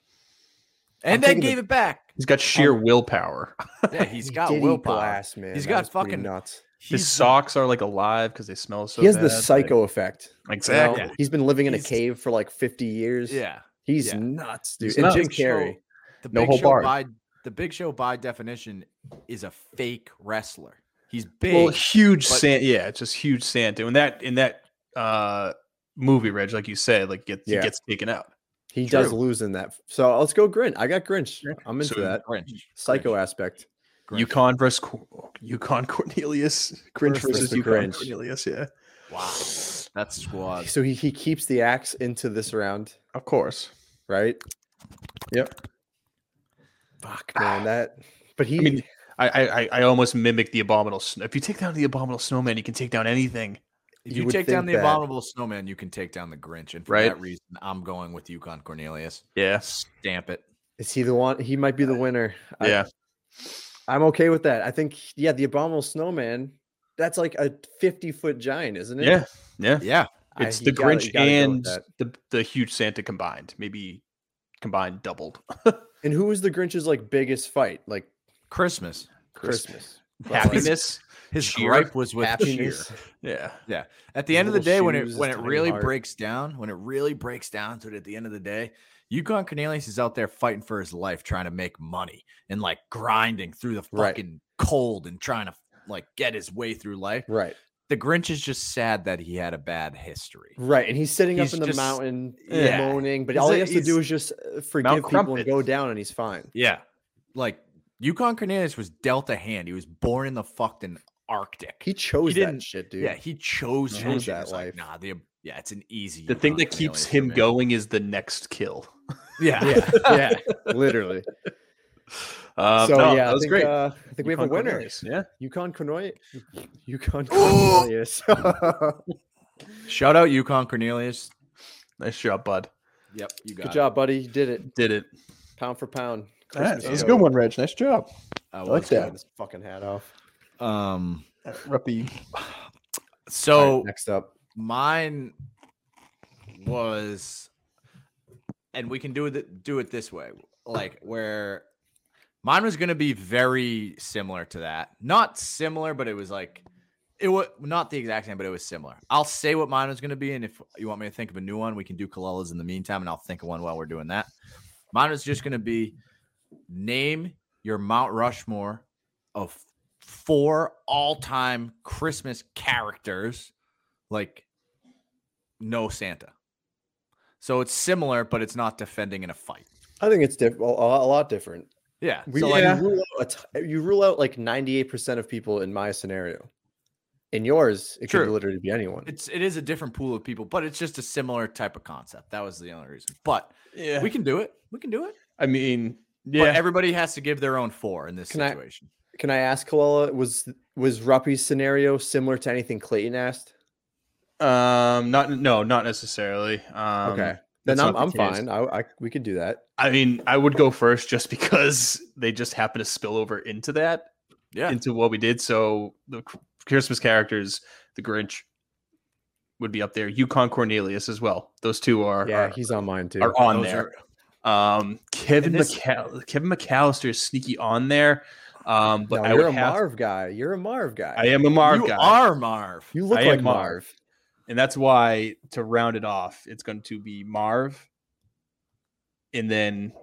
And then gave it back. He's got sheer willpower. Yeah, he's got Did eat willpower. glass, man. He's That got was pretty fucking nuts. His socks are like alive because they smell so He has bad. the psycho effect. Exactly. You know? He's been living in a cave for like 50 years. Yeah. He's Yeah. nuts, dude. He's And nuts. Jim Big Show- Carrey. The No Big whole Show bar. the Big Show by definition is a fake wrestler. He's big. Well, huge but- Santa. Yeah, it's just huge Santa. And in that movie, Reg, like you said, like he gets taken out. He True. does lose in that. So let's go Grinch. I got Grinch. I'm into So that. Grinch. Psycho Grinch. aspect. Grinch. Yukon versus Yukon Cornelius. Grinch versus Mr. Yukon Grinch. Cornelius. Yeah, Wow. That's squad. So he keeps the axe into this round, of course. right? Yep. Fuck, man. That. But he. I mean, I almost mimic the abominable. If you take down the abominable snowman, you can take down anything. If You you would take down think the that- abominable snowman, you can take down the Grinch. And for Right. that reason, I'm going with Yukon Cornelius. Yeah. Stamp it. Is he the one? He might be the winner. Yeah. I'm okay with that. I think, yeah, the abominable snowman. That's like a 50-foot giant, isn't it? Yeah. Yeah. Yeah. It's you the gotta- Grinch you gotta go with and that. the huge Santa combined. Maybe combined doubled. And who was the Grinch's like biggest fight? Like Christmas. Christmas. Happiness. His Cheer. gripe was with Happiness. cheer. Yeah. Yeah. At the end of the Little day, when shoes, it tiny really heart. breaks down, to it at the end of the day, Yukon Cornelius is out there fighting for his life, trying to make money and like grinding through the Right. fucking cold and trying to like get his way through life. Right. The Grinch is just sad that he had a bad history. Right. And he's sitting He's up in the just- mountain yeah. moaning, but He's all a- he has to do he's is just forgive people Crumpet. and go down and he's fine. Yeah. Like Yukon Cornelius was dealt a hand. He was born in the fucking Arctic. He chose didn't- that shit, dude. Yeah, he chose He that, chose shit. that It's like, life. nah, yeah, it's an easy. The thing Yukon that keeps Cornelius him for me. going is the next kill. Yeah. Yeah. Yeah. Literally. So So yeah, that was I think, great. I think we have a Yukon winner. Cornelius, yeah. Yukon Cornelius. Yukon Cornelius. Shout out Yukon Cornelius. Nice job, bud. Yep, you got Good it. job, buddy. You did it. Did it. Pound for pound. That Christmas was a code. good one, Reg. Nice job. I like was that. Get his fucking hat off. good. Ruppy. So All right, next up. mine was, and we can do it this way, like where mine was going to be very similar to that. Not similar, but it was like it was not the exact same, but it was similar. I'll say what mine was going to be, and if you want me to think of a new one, we can do Kalela's in the meantime, and I'll think of one while we're doing that. Mine was just going to be name your Mount Rushmore of 4 all-time Christmas characters, like no Santa. So it's similar, but it's not defending in a fight. I think it's a lot different. Yeah. We, So like, like, you rule out like 98% of people in my scenario. In yours, it could True. literally be anyone. it is a different pool of people, but it's just a similar type of concept. That was the only reason. But Yeah. we can do it. We can do it. I mean, But yeah. everybody has to give their own 4 in this Can I- situation. Can I ask Kalila, was Ruppy's scenario similar to anything Clayton asked? Not necessarily. Okay. that's Then not I'm the case. fine. We could do that. I mean, I would go first just because they just happen to spill over into that, Yeah. into what we did. So the Christmas characters, the Grinch would be up there. Yukon Cornelius as well. Those two are Yeah, he's on mine too. are on Those there. are- Kevin And this- Kevin McAllister is sneaky on there. But No, I you're would a have, Marv guy. You're a Marv guy. I am a Marv you guy. are Marv. You look I like am Marv. And that's why, to round it off, it's going to be Marv and then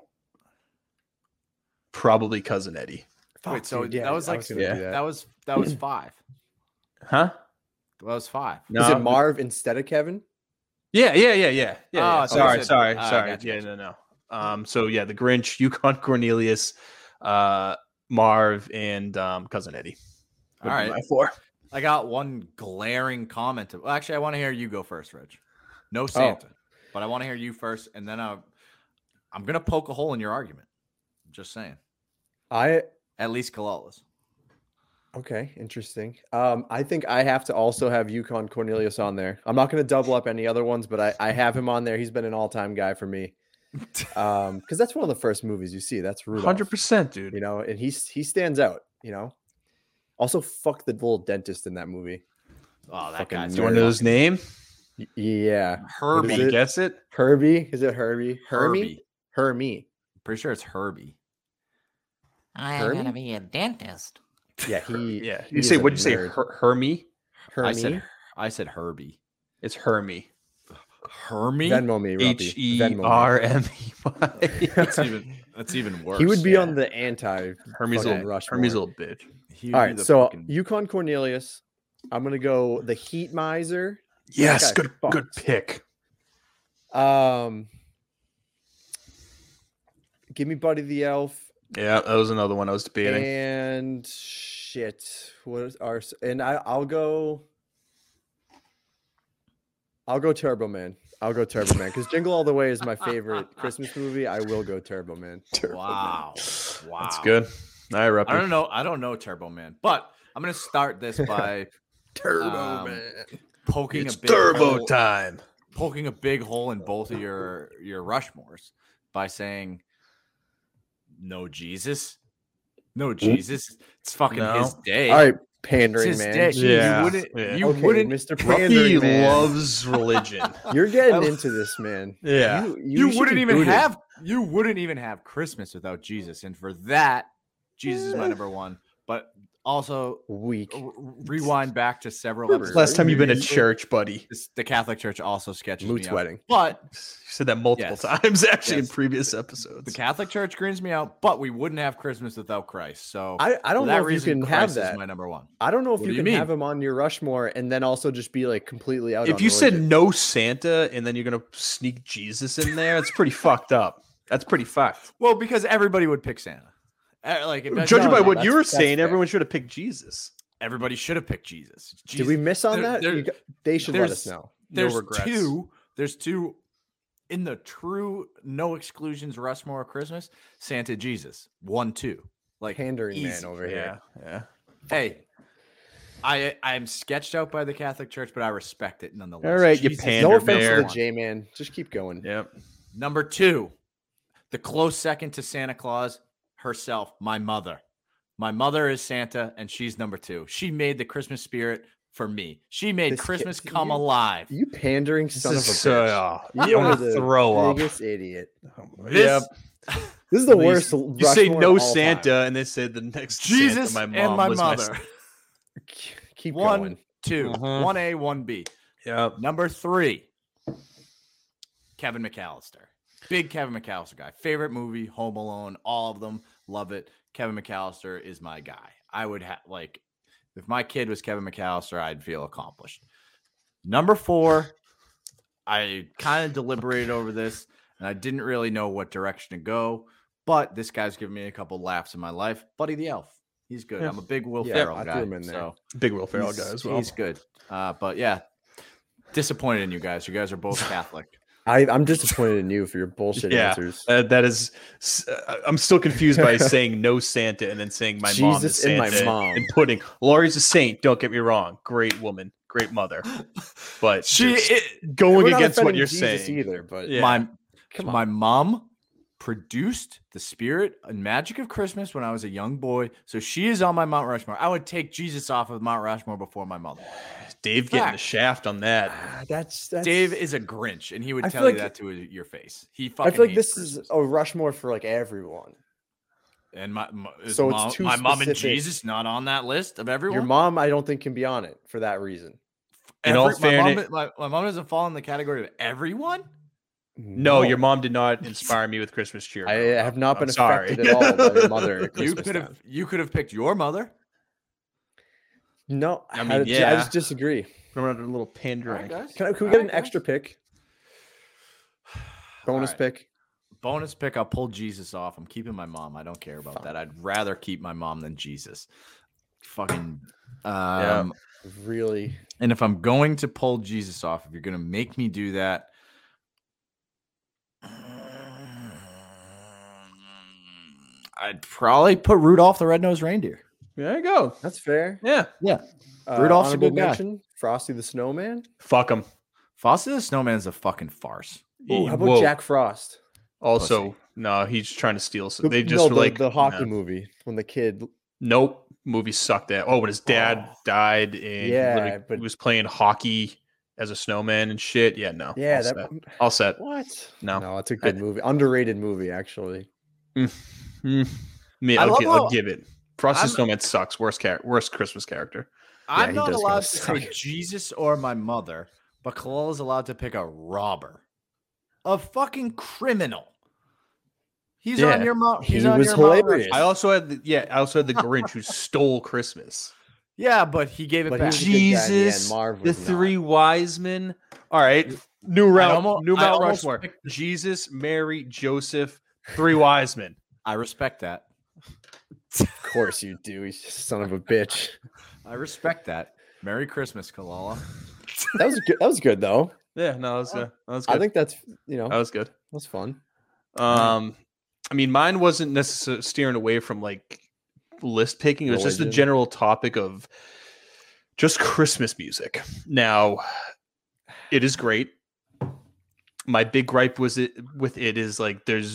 probably Cousin Eddie. Wait, so dude, yeah, that was I like was gonna do that. that was 5. Huh? That was 5. No. Is it Marv instead of Kevin? Yeah. Oh, so sorry. you said- ah, Sorry. gotcha, Yeah, no. So yeah, the Grinch, Yukon Cornelius, Marv, and Cousin Eddie. All right. My 4. I got one glaring comment. Well, actually, I want to hear you go first, Reg. No Santa, but I want to hear you first, and then I'm gonna poke a hole in your argument. Just saying. At least Kalala's. Okay, interesting. I think I have to also have Yukon Cornelius on there. I'm not going to double up any other ones, but I have him on there. He's been an all-time guy for me. Because that's one of the first movies you see. That's Rudolph. 100%, dude. You know, and he stands out. You know. Also, fuck the little dentist in that movie. Oh, that Fucking guy's Do you want to know his name? Yeah, Herbie. Did you guess it? Herbie. Is it Herbie? Herbie. Hermie. Pretty sure it's Herbie. I'm Hermie? gonna be a dentist. Yeah, he. Yeah. he You is say a what'd you say? nerd. Hermie? Hermie. I said Herbie. It's Hermie. Hermie. Venmo me, Ruppy. Hermie. That's even worse. He would be on the anti Hermie's fucking a Rushmore. Hermie's a little bitch. He would All be right, the so fucking- Yukon Cornelius. I'm gonna go the Heat Miser. Yes, That guy good fucks. pick. Give me Buddy the Elf. Yeah, that was another one I was debating. And shit, what is our? And I'll go Turbo Man. I'll go Turbo Man because Jingle All the Way is my favorite Christmas movie. I will go Turbo Man. Wow. Wow. That's good. All right, Ruppy. I don't know Turbo Man, but I'm gonna start this by Turbo Man. poking It's a big turbo hole, time. poking a big hole in both of your Rushmores by saying no Jesus. No Jesus. It's fucking No. his day. All right, It's pandering his man. day. Yeah, You wouldn't yeah. you Okay, wouldn't Mr. Ruppy Pandering man. loves religion. You're getting into this, man. Yeah. you should wouldn't be even booted. have Christmas without Jesus. And for that, Jesus is my number one. But also Weak. rewind back to several episodes. Last time you've been to church, buddy. The Catholic Church also sketches Moot's me out. wedding. But You said that multiple Yes. times actually Yes. in previous the episodes. Catholic Church greens me out, but we wouldn't have Christmas without Christ. So I for don't that know if reason, you can Christ have is that. my number one. I don't know if What you do you can mean? have him on your Rushmore and then also just be like completely out. If on you said religion. no Santa and then you're gonna sneak Jesus in there, that's pretty fucked up. That's pretty fucked. Well, because everybody would pick Santa. Like if Judging no, by no, what you were that's saying, fair. everyone should have picked Jesus. everybody should have picked Jesus. did we miss on There- that? there- They should let us there's- know. There's regrets. two. There's two in the true no exclusions Rushmore Christmas. Santa Jesus 1, 2. Like Pandering easy. man over here. Yeah. Hey, I'm sketched out by the Catholic Church, but I respect it nonetheless. All right, you Jesus pander No is offense bear. to the J man. Just keep going. Yep. Number 2, the close second to Santa Claus herself, my mother. My mother is Santa, and she's number 2. She made the Christmas spirit for me. She made This kid- Christmas come you- alive. You pandering This son of a is bitch. so. You I are want to the throw up. biggest idiot. This, This is the You- worst. You say Rushmore no of all Santa, time. and they said the next Jesus Santa, and my was mother. Keep 1, going. 2, Mhm. 1A, 1B. Yep. Number 3, Kevin McAllister. Big Kevin McAllister guy. Favorite movie, Home Alone, all of them. Love it. Kevin McAllister is my guy. I would have, like, if my kid was Kevin McAllister, I'd feel accomplished. Number 4, I kind of deliberated over this, and I didn't really know what direction to go, but this guy's given me a couple laughs in my life. Buddy the Elf. He's good. Yeah. I'm a big Will Yeah, Ferrell I threw guy. him in there. So Big Will Ferrell he's- guy as well. He's good. But yeah, disappointed in you guys. You guys are both Catholic. I'm disappointed in you for your bullshit Yeah. answers. That is. I'm still confused by saying no Santa and then saying my mom is Jesus and Santa my mom. and putting Laurie's a saint. Don't get me wrong. Great woman, great mother, but just going We're not against what offending you're Jesus saying. either, but Yeah. My mom produced the spirit and magic of Christmas when I was a young boy. So she is on my Mount Rushmore. I would take Jesus off of Mount Rushmore before my mother. Dave getting the Fact. shaft on that. that's Dave is a Grinch, and he would I tell feel you like- that to your face. He I fucking feel like hates this is Christmas. a Rushmore for like everyone. And is So it's too my mom and specific. Jesus not on that list of everyone. Your mom, I don't think, can be on it for that reason. In all my fairness- mom doesn't fall in the category of everyone. No, your mom did not inspire me with Christmas cheer. I growing up. have not been I'm sorry. affected at all by your mother. At You Christmas could time. have picked your mother. No, I mean, I yeah. just disagree. Remember a little pandering. Can we get an extra pick? Bonus pick. Bonus pick. I'll pull Jesus off. I'm keeping my mom. I don't care about that. I'd rather keep my mom than Jesus. Fucking. Really. And if I'm going to pull Jesus off, if you're going to make me do that, I'd probably put Rudolph the Red-Nosed Reindeer. There you go. That's fair. Yeah. Yeah. Rudolph's a honorable good guy. mention, Frosty the Snowman. Fuck him. Frosty the Snowman is a fucking farce. Ooh, how about Jack Frost? Also, no, he's trying to steal. The- They just no, were like the hockey no. movie when the kid. Nope, movie sucked. That when his dad died and Yeah, he was playing hockey as a snowman and shit. Yeah, no. Yeah, all that. set. All set. What? No, No, it's a good movie. Underrated movie, actually. Me, I love I'll how- give it. Frosty I'm- Snowman sucks. Worst Christmas character. I'm he not does allowed kinda to suck. say Jesus or my mother, but Kalal is allowed to pick a robber, a fucking criminal. He's Yeah. on your mom. He He's on was your Mount hilarious. Rushmore. I also had the Grinch who stole Christmas. Yeah, but he gave it But he back. was a good guy in the end. Jesus, Marv the was not. three wise men. All right, new round, new I Mount almost Rushmore. picked- Jesus, Mary, Joseph, three wise men. I respect that. Of course you do. He's just a son of a bitch. I respect that. Merry Christmas, Kalala. That was good. That was good though. Yeah, no, that was good. I think that's that was good. that's fun. I mean, mine wasn't necessarily steering away from like list picking. It was just the Religion. general topic of just Christmas music. Now, it is great. My big gripe with it is like there's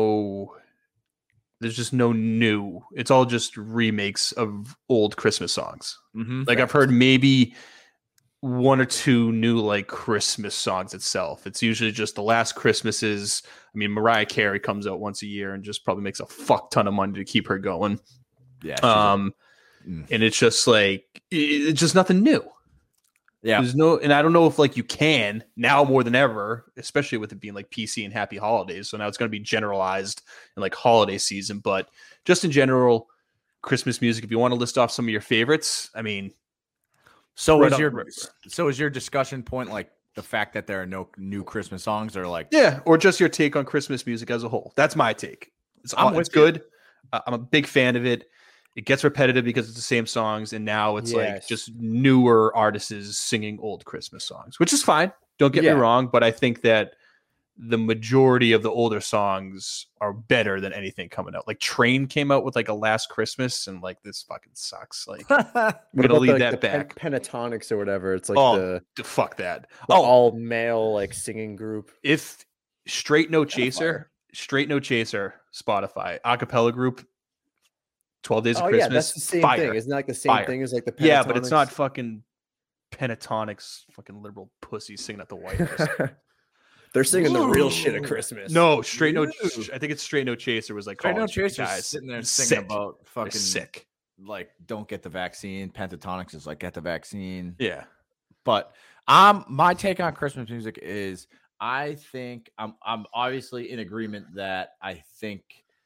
just no new. It's all just remakes of old Christmas songs. Mm-hmm. Like I've heard maybe one or two new like Christmas songs itself. It's usually just the last Christmases. I mean, Mariah Carey comes out once a year and just probably makes a fuck ton of money to keep her going. Yeah. And it's just like it's just nothing new. Yeah. There's no, and I don't know if like you can now more than ever, especially with it being like PC and happy holidays. So now it's going to be generalized in like holiday season, but just in general, Christmas music. If you want to list off some of your favorites, I mean, So right is up- your discussion point like the fact that there are no new Christmas songs, or like yeah, or just your take on Christmas music as a whole. That's my take. It's I'm it's with you. good. I'm a big fan of it. It gets repetitive because it's the same songs, and now it's like Yes. just newer artists singing old Christmas songs, which is fine. Don't get Yeah. me wrong, but I think that the majority of the older songs are better than anything coming out. Like Train came out with like a Last Christmas, and like this fucking sucks. Like I'm What gonna about leave the, that the back. Pentatonics or whatever? It's like Oh, fuck that. the Oh, all male like singing group. if Straight No Chaser, Spotify, acapella group, 12 Days of Oh Christmas. yeah, that's the same fire. thing. Isn't that like the same Fire. thing as like the Yeah, but it's not Pentatonics? fucking Pentatonics, fucking liberal pussies singing at the White House. They're singing the real shit at Christmas. No, Straight No. I think it's Straight No Chaser was like Straight No college Chaser's guys sitting there It's singing sick. about They're fucking sick. like don't get the vaccine. Pentatonics is like get the vaccine. Yeah, But my take on Christmas music is I think I'm obviously in agreement that I think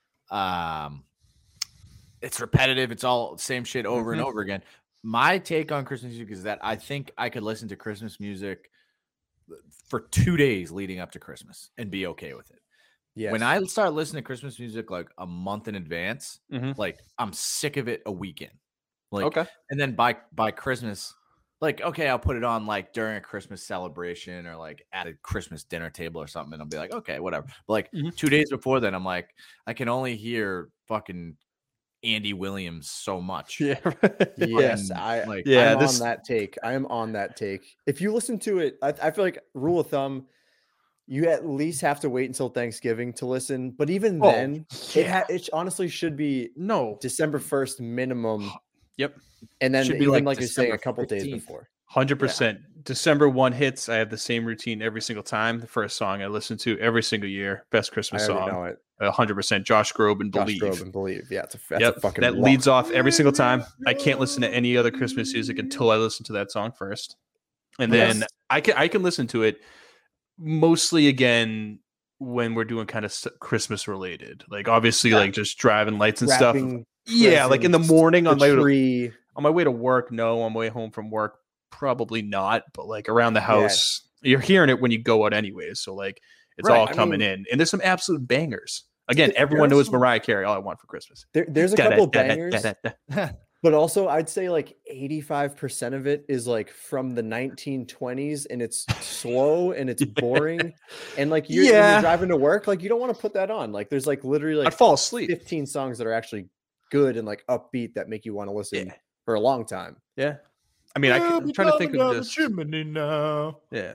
it's repetitive. It's all same shit over and over again. My take on Christmas music is that I think I could listen to Christmas music for 2 days leading up to Christmas and be okay with it. Yes. When I start listening to Christmas music like a month in advance, Mhm. like I'm sick of it a weekend. Like, Okay. and then by Christmas, like, okay, I'll put it on like during a Christmas celebration or like at a Christmas dinner table or something, and I'll be like, okay, whatever. But like 2 days before then, I'm like, I can only hear fucking Andy Williams so much. Yeah. Yes, Fucking, I like Yeah, I'm this- on that take. I am on that take. If you listen to it, I feel like rule of thumb, you at least have to wait until Thanksgiving to listen. But even Oh, then, it honestly should be No. December 1st minimum, Yep. and then Should be even like like you're saying, a December couple days 15th. before. 100%. December 1 hits. I have the same routine every single time. The first song I listen to every single year. Best I Christmas already song. know it. 100%. Josh Groban, Josh Believe. Groban, Believe. Yeah, that's Yep, a fucking that lock. leads off every single time. I can't listen to any other Christmas music until I listen to that song first, and then Yes. I can listen to it mostly again when we're doing kind of Christmas related, like obviously like just driving lights and stuff. Wrapping Yeah, like in the presents, morning on the my tree. way to work. No, on my way home from work, probably not. But like around the house, you're hearing it when you go out anyways. So like it's Right, all I coming mean- in, and there's some absolute bangers. Again, There- everyone there's knows some- Mariah Carey. All I Want for Christmas. There's a Da-da, couple da-da, bangers, da-da, da. but also I'd say like 85% of it is like from the 1920s, and it's slow and it's boring. And like when Yeah. you're driving to work, like you don't want to put that on. Like there's like literally I'd like fall asleep. 15 songs that are actually good and like upbeat that make you want to listen Yeah. for a long time. Yeah. I mean, I'm trying to think of this. chimney now. Yeah.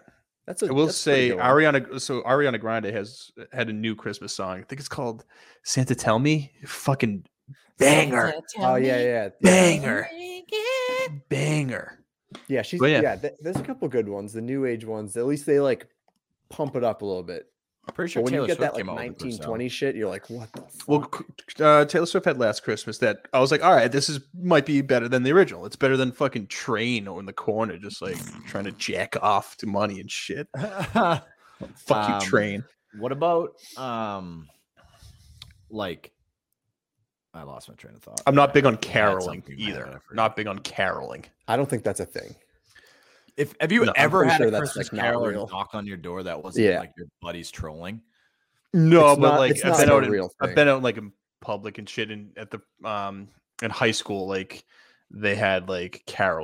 That's I will that's a pretty say good one. Ariana Grande had a new Christmas song. I think it's called Santa Tell Me. Fucking banger. Oh yeah. Banger. Banger. Yeah, she's But yeah. yeah. There's a couple good ones. The new age ones. At least they like pump it up a little bit. I'm pretty sure But when Taylor you get Swift that like came out with a 1920 shit, you're like, what the fuck? Well, Taylor Swift had Last Christmas that I was like, all right, might be better than the original. It's better than fucking Train or in the corner, just like trying to jack off to money and shit. Fuck you, Train. What about like I lost my train of thought. I'm not big on I had caroling something in my head, I either. forgot. Not big on caroling. I don't think that's a thing. Have you No, I'm ever pretty had sure a that's, Christmas like, not carol or real. knock on your door that wasn't Yeah. like your buddies trolling? No, It's but not- like it's I've not been a out real I've thing. been out like in public and shit, and at the in high school, like they had like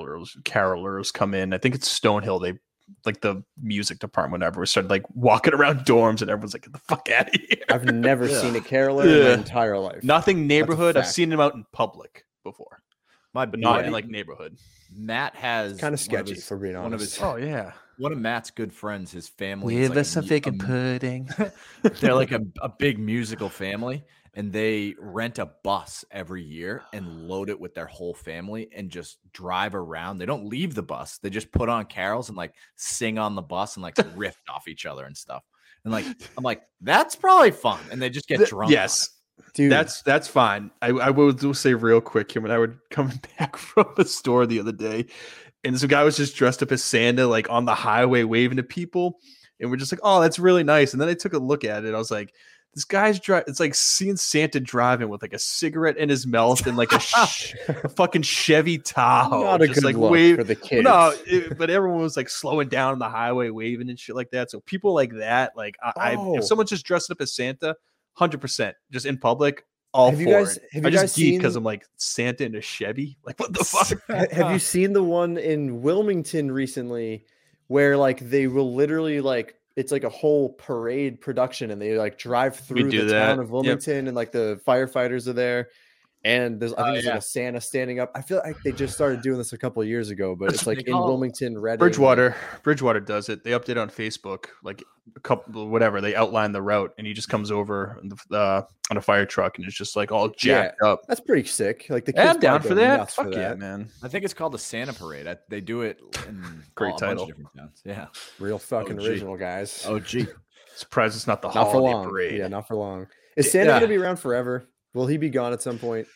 carolers come in. I think it's Stonehill. They like the music department, whatever, started like walking around dorms, and everyone's like, "Get the fuck out of here!" I've never seen a caroler in my Yeah. entire life. Nothing neighborhood. I've fact. seen them out in public before, My but not buddy, in like neighborhood. Matt has It's kind of one sketchy, his- for being one of honest. his Oh yeah, one of Matt's good friends, his family. is pudding. They're like a big musical family, and they rent a bus every year and load it with their whole family and just drive around. They don't leave the bus. They just put on carols and like sing on the bus and like riff off each other and stuff. And like I'm like, that's probably fun. And they just get drunk. on Yes. Dude, That's fine. I will say real quick, Kim, when I were coming back from the store the other day, and some guy was just dressed up as Santa, like on the highway waving to people, and we're just like, oh, that's really nice. And then I took a look at it. I was like, this guy's driving. It's like seeing Santa driving with like a cigarette in his mouth and like a fucking Chevy Tahoe. not a just good like look for the kids. No, but everyone was like slowing down on the highway, waving and shit like that. So people like that, like Oh. if someone's just dressed up as Santa, 100%, just in public, all Have you for guys- it. have I you just guys geek seen- because I'm like Santa in a Chevy. Like what the fuck? Have you seen the one in Wilmington recently where like they will literally like it's like a whole parade production and they like drive through do the town that. of Wilmington and like the firefighters are there and there's I think there's yeah. like a Santa standing up. I feel like they just started doing this a couple of years ago, but it's like They in call- Wilmington, Reading. Bridgewater does it. They update on Facebook, like a couple, whatever. They outline the route, and he just comes over on a fire truck, and it's just like all jacked up. That's pretty sick. Like the Yeah, kids I'm down probably for go that. nuts Fuck for yeah, that. man. I think it's called the Santa Parade. They do it in Great a bunch title. of different towns. Yeah. Real fucking OG. original, guys. Oh, gee. Surprised it's not the Not for holiday long. parade. Yeah, not for long. Is Santa Yeah. gonna be around forever? Will he be gone at some point?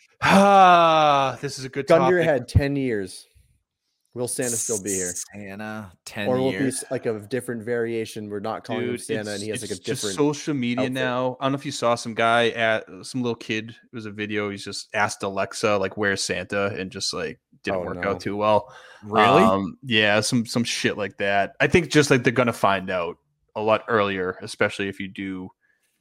This is a good Gun to topic. your head, 10 years. Will Santa still be here? Santa, 10 Or will it be years. like a different variation? We're not calling him Dude, Santa and he has like a it's just different social media outfit. now. I don't know if you saw some guy at some little kid. It was a video. He's just asked Alexa like, "Where's Santa?" and just like didn't Oh, work no. out too well. Really? Yeah, some shit like that. I think just like they're gonna find out a lot earlier, especially if you do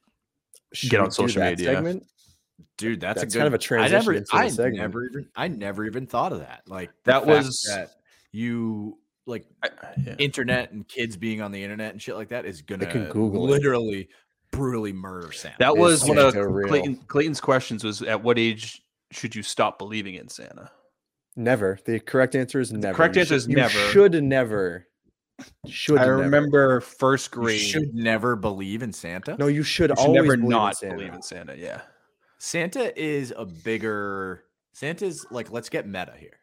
Should get we on do social that media. segment? Dude, that's a That's good kind of a transition into the segment. I never even thought of that. Like That the fact was- that you like Yeah. internet and kids being on the internet and shit like that is gonna can Google it. literally brutally murder Santa. That Is was one of Santa real? Clayton's questions was at what age should you stop believing in Santa? Never. The correct answer is never. correct You answer is should- never. You should never. Should I never. remember first You grade. should never believe in Santa. No, you should You should always never believe in not Santa. believe in Santa. Yeah. Santa is a bigger Santa's like let's get meta here.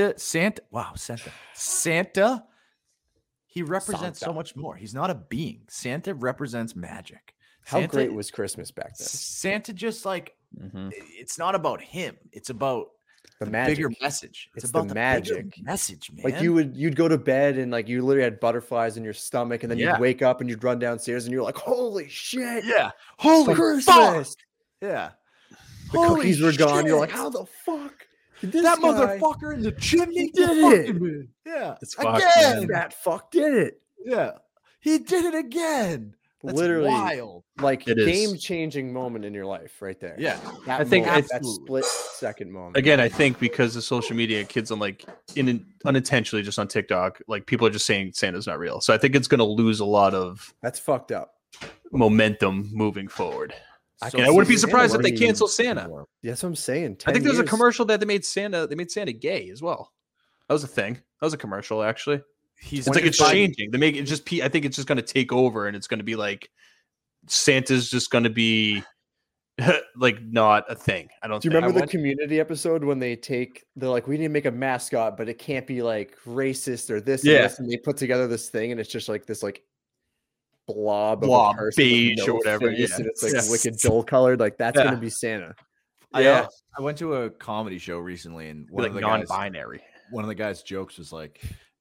Santa he represents so Santa. much more. He's not a being. Santa represents magic. How Santa- great was Christmas back then? Santa just like Mhm. it's not about him. It's about The the magic. bigger message. It's about the bigger magic. message, man. Like you'd go to bed and like you literally had butterflies in your stomach, and then Yeah. you'd wake up and you'd run downstairs and you're like, "Holy shit! yeah. Holy Christmas!" fuck. Yeah. The Holy cookies were gone. You're like, shit. "How the fuck did this that guy- motherfucker in the chimney did fucking it. me. Yeah. It's fucked, again. man. that fuck did it?" Yeah. He did it again. That's Literally. wild. Like It is. game-changing moment in your life, right there. Yeah. That I think moment, that absolutely. split-second moment. Again, I think because of social media, kids on like unintentionally just on TikTok, like people are just saying Santa's not real. So I think it's going to lose a lot of That's fucked up. momentum moving forward. I And I wouldn't be see Santa surprised if they working cancel Santa. more. That's what I'm saying. I 10 think there's a years. commercial that they made Santa gay as well. That was a thing. That was a commercial actually. He's It's like it's 25 changing. They make it just. I think it's just going to take over, and it's going to be like Santa's just going to be like not a thing. I don't. Do you think. remember the Community episode when they're like, we need to make a mascot, but it can't be like racist or this, Yeah. and this, and they put together this thing, and it's just like this like blob of Blob, a person with beige or no whatever, face, yeah. and it's like Yes. wicked dull colored. Like that's Yeah. gonna be Santa. Yeah. I went to a comedy show recently, and one Like of the guys, non-binary. one of the guys' jokes was like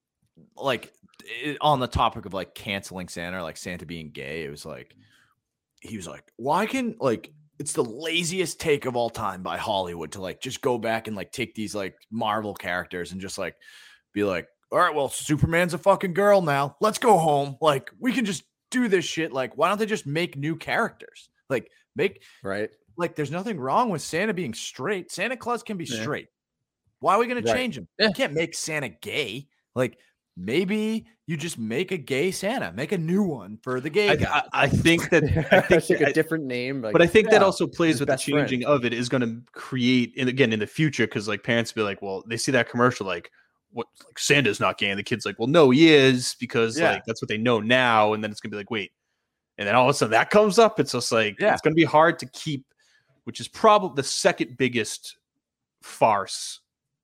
on the topic of like canceling Santa, or like Santa being gay. It was like he was like, why can like it's the laziest take of all time by Hollywood to like just go back and like take these like Marvel characters and just like be like, all right, well, Superman's a fucking girl now. Let's go home. Like we can just do this shit. Like, why don't they just make new characters? Like make Right. like there's nothing wrong with Santa being straight. Santa Claus can be Yeah. straight. Why are we going to Right. change him? Yeah. You can't make Santa gay. Like maybe you just make a gay Santa, make a new one for the gay guy. I think that. It's like a different name, But I think that Yeah. also plays His with the best friend. changing of it is going to create, and again in the future, because like parents be like, well, they see that commercial like, what, like Santa's not gay, and the kid's like, well, no, he is, because Yeah. like that's what they know now, and then it's gonna be like, wait, and then all of a sudden that comes up. It's just like Yeah. it's gonna be hard to keep, which is probably the second biggest farce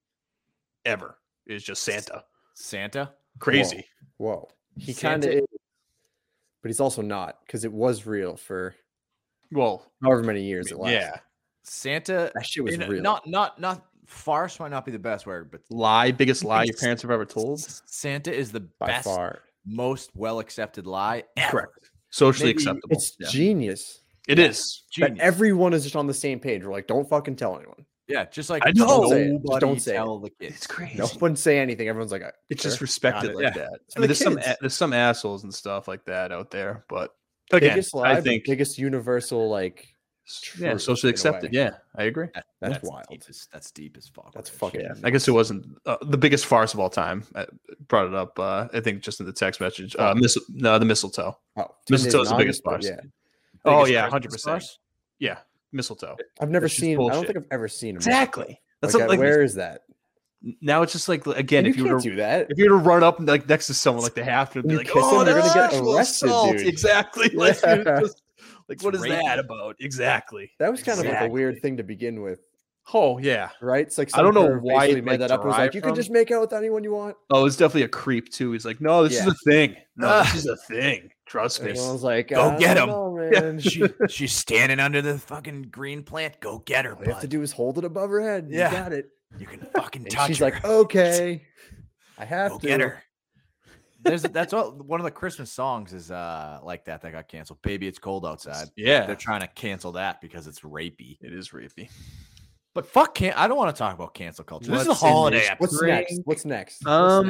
ever is just Santa. Santa. Crazy. Whoa. He Santa- kind of is, but he's also not, because it was real for Well, however many years it lasted. yeah, Santa. That shit was and real. Not farce might not be the best word, but biggest lie your parents have ever told. Santa is the by best, far. most well accepted lie ever. Correct. Socially Maybe acceptable. It's Yeah. genius. It is. That Genius. everyone is just on the same page. We're like, don't fucking tell anyone. Yeah, just like I know. Don't say it. Just nobody don't say it. tell the kids. It's crazy. No one say anything. Everyone's like, It's sure. just respected it. like Yeah. that. For I mean, the there's some assholes and stuff like that out there, but again, biggest lie, I but think biggest universal like yeah, truth socially in a accepted. way. Yeah, I agree. That's wild. That's deep as fuck. That's fucking. Yeah, I guess it wasn't the biggest farce of all time. I brought it up. I think just in the text message. The mistletoe. Oh, 10 Mistletoe's Days the in biggest August, but farce. Yeah, Oh Biggest yeah, Christmas 100%. farce? Yeah, mistletoe. I've never That's just seen. I don't bullshit. think I've ever seen him. Exactly. That's Like, like where is that? now it's just like again, And if you you were can't to do that. if you were to run up and like next to someone, like they have to be You like, kiss oh, them, they're gonna that's get sexual arrested, assault." dude. Exactly. Like, you're Yeah. just- like, what is rape. that about? Exactly. That was kind of like a Exactly. weird thing to begin with, Oh yeah. right? It's like I don't know some perv why basically it, made like, that up. It was like derived you from. can just make out with anyone you want. Oh, it's definitely a creep too. He's like, no, this is Yeah. a thing. No, this is a thing. Trust me. Everyone's like, Go I get don't him. know, man. She's standing under the fucking green plant. Go get her, All you have to bud. do is hold it above her head. Yeah. You got it. You can fucking And touch she's her. like, okay, I have Go to. get her. That's what one of the Christmas songs is like that got canceled. Baby, it's cold outside. Yeah, They're trying to cancel that because it's rapey. it is rapey. But fuck, I don't want to talk about cancel culture. This is a What's in holiday this? episode. What's next? What's next?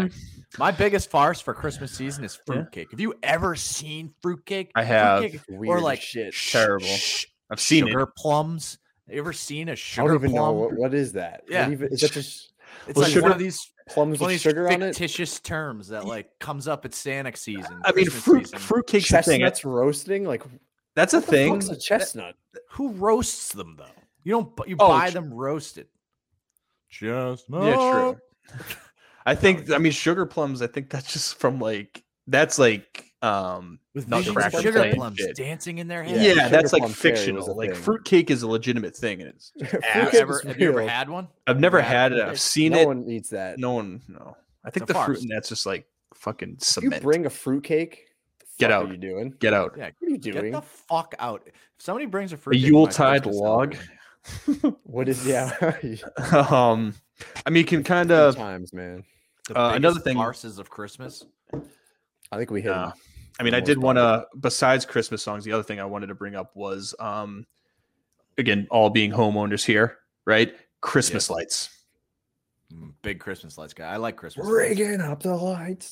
My biggest farce for Christmas season is Yeah. fruitcake. Have you ever seen fruitcake? I have. Fruitcake Weird or like shit. Terrible. I've seen sugar it. plums. Have you ever seen a I sugar don't even plum? know what is that. Yeah. What even, is that just It's Well, like sugar- one of these plums one of with these sugar on it? fictitious terms that like comes up at Santa season. I mean, Christmas season. fruitcake's a thing. Chestnuts roasting? Like That's a what the thing. fuck's a chestnut? Who roasts them though? You don't. You Oh, buy ch- them roasted. Chestnut. Yeah, true. I think. I mean, sugar plums. I think that's just from like that's like With not visions of cracker sugar playing plums shit. dancing in their Yeah, head. Yeah, that's sugar like plum fairy was fictional. a Like thing. fruitcake is a legitimate thing, and it's. Have Fruitcake you ever, is have you ever real. had one? I've never Yeah, had it. fruitcake. I've seen No it. one eats that. No one. No. I think It's a the fruit farce. and that's just like fucking If you cement. bring a fruitcake, the Get fuck out. Are you doing? Get out. Yeah, What are you get doing? the fuck out. If somebody brings a A fruit, Yuletide log. What is yeah? I mean, you can kind Good of. times, man. Another thing- farces of Christmas. I think we hit. 'em. I mean, the I most did want part. to. Besides Christmas songs, the other thing I wanted to bring up was, again, all being homeowners here, right? Christmas lights. Big Christmas lights guy. I like Christmas. lights. Rigging up the lights.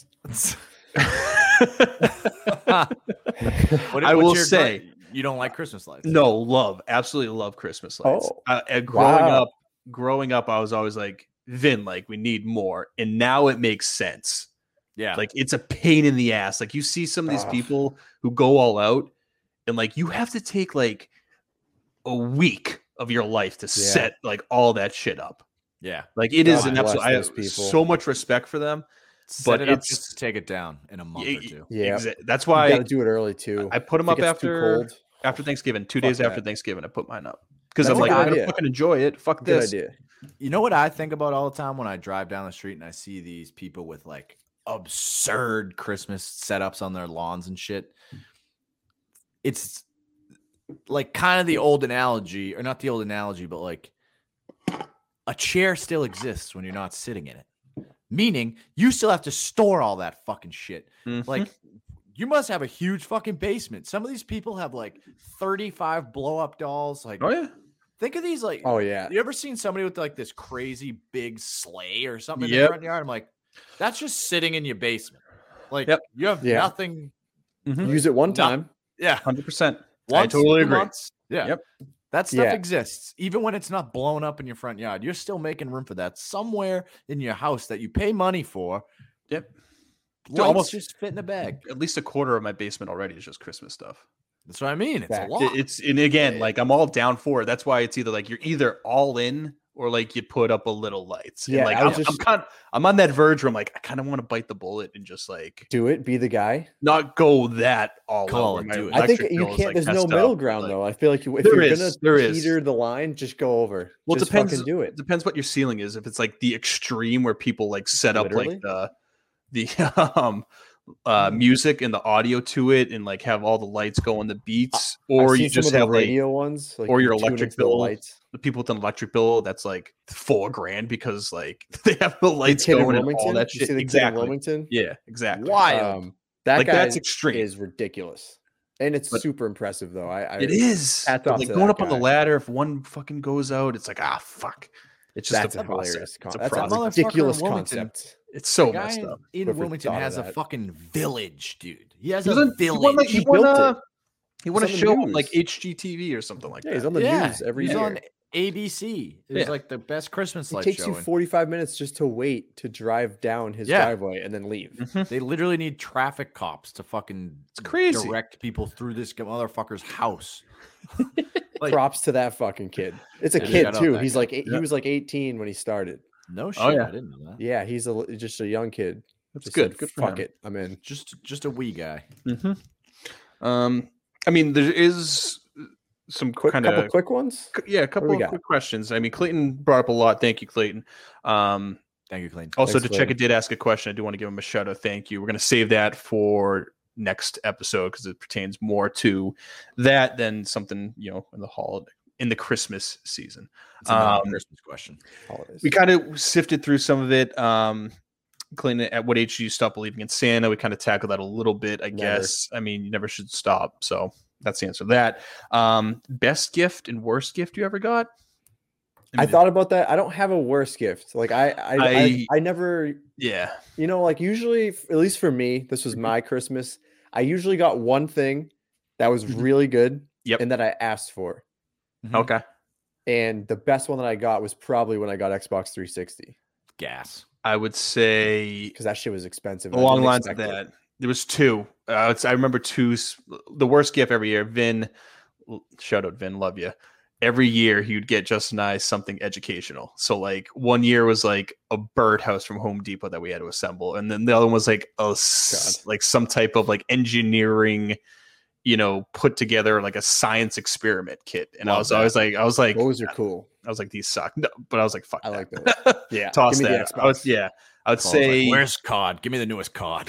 I will say, you don't like Christmas lights. no, love, absolutely love Christmas lights. Oh, Growing up, I was always like, Vin, like we need more, and now it makes sense. Yeah. Like it's a pain in the ass. Like you see some of these Ugh. people who go all out, and like you have to take like a week of your life to set like all that shit up. yeah. Like it is God an bless absolute. I have those people. so much respect for them. Set it up it's just to take it down in a month or two. Yeah, that's you why got to do it early too. I put them If up it gets too after cold, Thanksgiving, 2 Fuck days after that. Thanksgiving. I put mine up because That's I'm a like, good I'm gonna idea. fucking enjoy it. Fuck good this. idea. You know what I think about all the time when I drive down the street and I see these people with like absurd Christmas setups on their lawns and shit? It's like kind of the old analogy, or not the old analogy, but like a chair still exists when you're not sitting in it. Meaning you still have to store all that fucking shit. Mhm. Like you must have a huge fucking basement. Some of these people have like 35 blow up dolls. Like, Oh yeah. think of these like, Oh yeah, you ever seen somebody with like this crazy big sleigh or something in Yep. their front yard? I'm like, that's just sitting in your basement. Like Yep. you have Yeah. nothing. use it one time. Yeah. 100%. Once, totally 2 agree. months. Yeah. Yep. That stuff Yeah. exists. Even when it's not blown up in your front yard, you're still making room for that somewhere in your house that you pay money for. Yep. Lights almost- just fit in a bag. At least a quarter of my basement already is just Christmas stuff. That's what I mean. It's Fact. a lot. It's and again, like I'm all down for it. That's why it's either like you're either all in or like you put up a little lights. And Yeah, like I was I'm on that verge where I'm like, I kind of want to bite the bullet and just like Do it. Be the guy. not go that all Call out. it, where my do it. I think electric you bill is, can't. like, There's no messed middle up, ground like- though. I feel like if There you're is, gonna there is. teeter the line, just go over. Well, it just depends. fucking do it. Depends what your ceiling is. If it's like the extreme where people like set up Literally? like the music and the audio to it and like have all the lights go on the beats, or I've you seen some just of the have like radio ones, like or you your tune electric into the bill. lights. The people with an electric bill that's like $4,000 because like they have the The lights kid in going and all Wilmington? that You shit. see the kid in Exactly. Wilmington? Yeah, exactly. Wild. That Like, guy that's extreme. is ridiculous, and it's But- super impressive though. It is. hats But, off like to going that up on the guy. ladder, if one fucking goes out, it's like fuck. It's just That's a a process. hilarious. It's a That's process. a motherfucker ridiculous in Wilmington. concept. It's so The guy messed up. in Whoever Wilmington thought of has a that. fucking village, dude. He has He a was on- village. He built it. He won a He's on the show on news. like HGTV or something like Yeah, that. he's on the news every he's year. on ABC. It was Yeah. like the best Christmas It light takes show. you and 45 minutes just to wait to drive down his Yeah. driveway and then leave. They literally need traffic cops to fucking crazy. direct people through this motherfucker's house. Like, Props to that fucking kid. It's a Yeah, kid shout out too. that He's guy. like he was like 18 when he started. no shit. yeah. I didn't know that. Yeah, he's just a young kid. That's Just good. said, Good for Fuck him. it, I'm in. Just a wee guy. I mean, there is some Quick, kind couple of quick ones. a couple we of got? quick questions. I mean, Clayton brought up a lot. Thank you, Clayton. Thank you, Clayton. Also, Thanks, to check, it did ask a question. I do want to give him a shout out. Thank you. We're going to save that for next episode because it pertains more to that than something in the holiday in the Christmas season. It's a Christmas question. Holidays. We kind of sifted through some of it. Clayton, at what age do you stop believing in Santa? We kind of tackled that a little bit, I guess. I mean, you never should stop. So that's the answer to that. Best gift and worst gift you ever got? I thought about that. I don't have a worse gift. Like I never, Yeah. like usually, at least for me, this was my Christmas. I usually got one thing that was really good Yep. and that I asked for. Okay. And the best one that I got was probably when I got Xbox 360 Gas. I would say because that shit was expensive. and I along didn't lines of expect it. that. There was two. I remember two. The worst gift every year. Vin, shout out Vin, love you. Every year he would get Justin and I something educational. So like one year was like a birdhouse from Home Depot that we had to assemble, and then the other one was like like some type of like engineering, put together like a science experiment kit. And I was always like, Those are cool. I was like, these suck. No, but I was like, fuck. I like that. those. Yeah, Toss give me the that. Xbox. I would say where's COD? Give me the newest COD.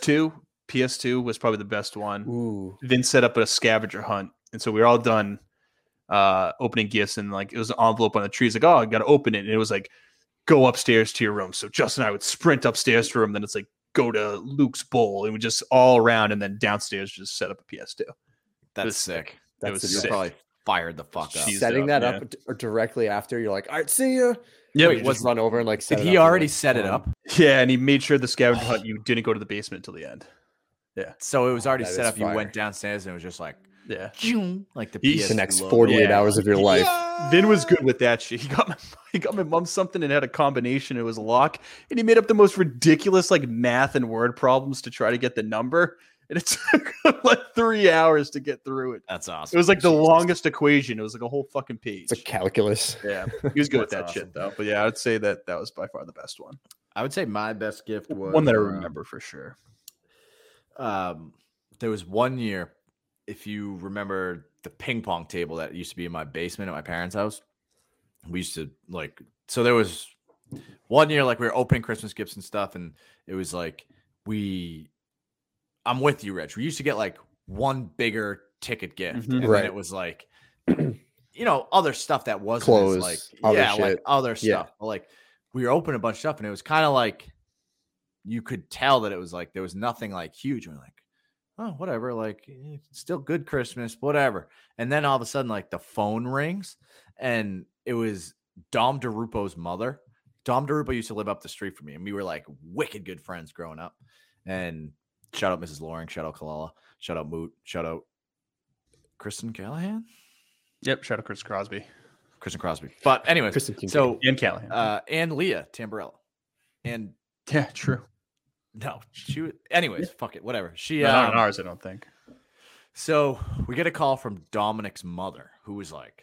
PS2 was probably the best one. Ooh, Vin set up a scavenger hunt, and so we were all done opening gifts, and like it was an envelope on the tree. It's like, oh, I gotta open it, and it was like, go upstairs to your room. So Justin and I would sprint upstairs to her room, then it's like, go to Luke's bowl, and we just all around, and then downstairs just set up a PS2. That's was sick. It was You sick. probably fired the fuck up. Jeez. setting up, that up or directly after, you're like, all right, see ya. Yeah, Wait, just run over and like set Did it he up and, already like, set it boom. up? yeah, and he made sure the scavenger hunt you didn't go to the basement until the end. So it was already That set is up. You fire. went downstairs and it was just like, Yeah. like the He's PS2 The next logo. 48 Yeah. hours of your life. Vin was good with that shit. He got my mom something and had a combination. It was a lock, and he made up the most ridiculous like math and word problems to try to get the number. And it took like 3 hours to get through it. That's It awesome. was like the longest equation. It was like a whole fucking page. It's a calculus. Yeah, he was good with that That's shit awesome. though. But yeah, I would say that was by far the best one. I would say my best gift was One that I remember for sure. There was one year, if you remember the ping pong table that used to be in my basement at my parents' house. We used to like, so there was one year like we were opening Christmas gifts and stuff, and it was like I'm with you, Reg. We used to get like one bigger ticket gift, and then it was like, other stuff that wasn't Clothes, as like, other like shit. other stuff. Yeah. But like we were opening a bunch of stuff, and it was kind of like you could tell that it was like there was nothing like huge. We're like, oh, whatever, like it's still good Christmas, whatever. And then all of a sudden, like the phone rings, and it was Dom DeRupo's mother. Dom DeRupo used to live up the street from me, and we were like wicked good friends growing up. And shout out Mrs. Loring, shout out Kalala, shout out Moot, shout out Kristen Callahan. Yep, shout out Chris Crosby. Kristen Crosby. But anyways, so and Callahan. and Leah Tamburello. And yeah, true. No, anyways, fuck it, whatever. She not on ours, I don't think. So we get a call from Dominic's mother, who was like,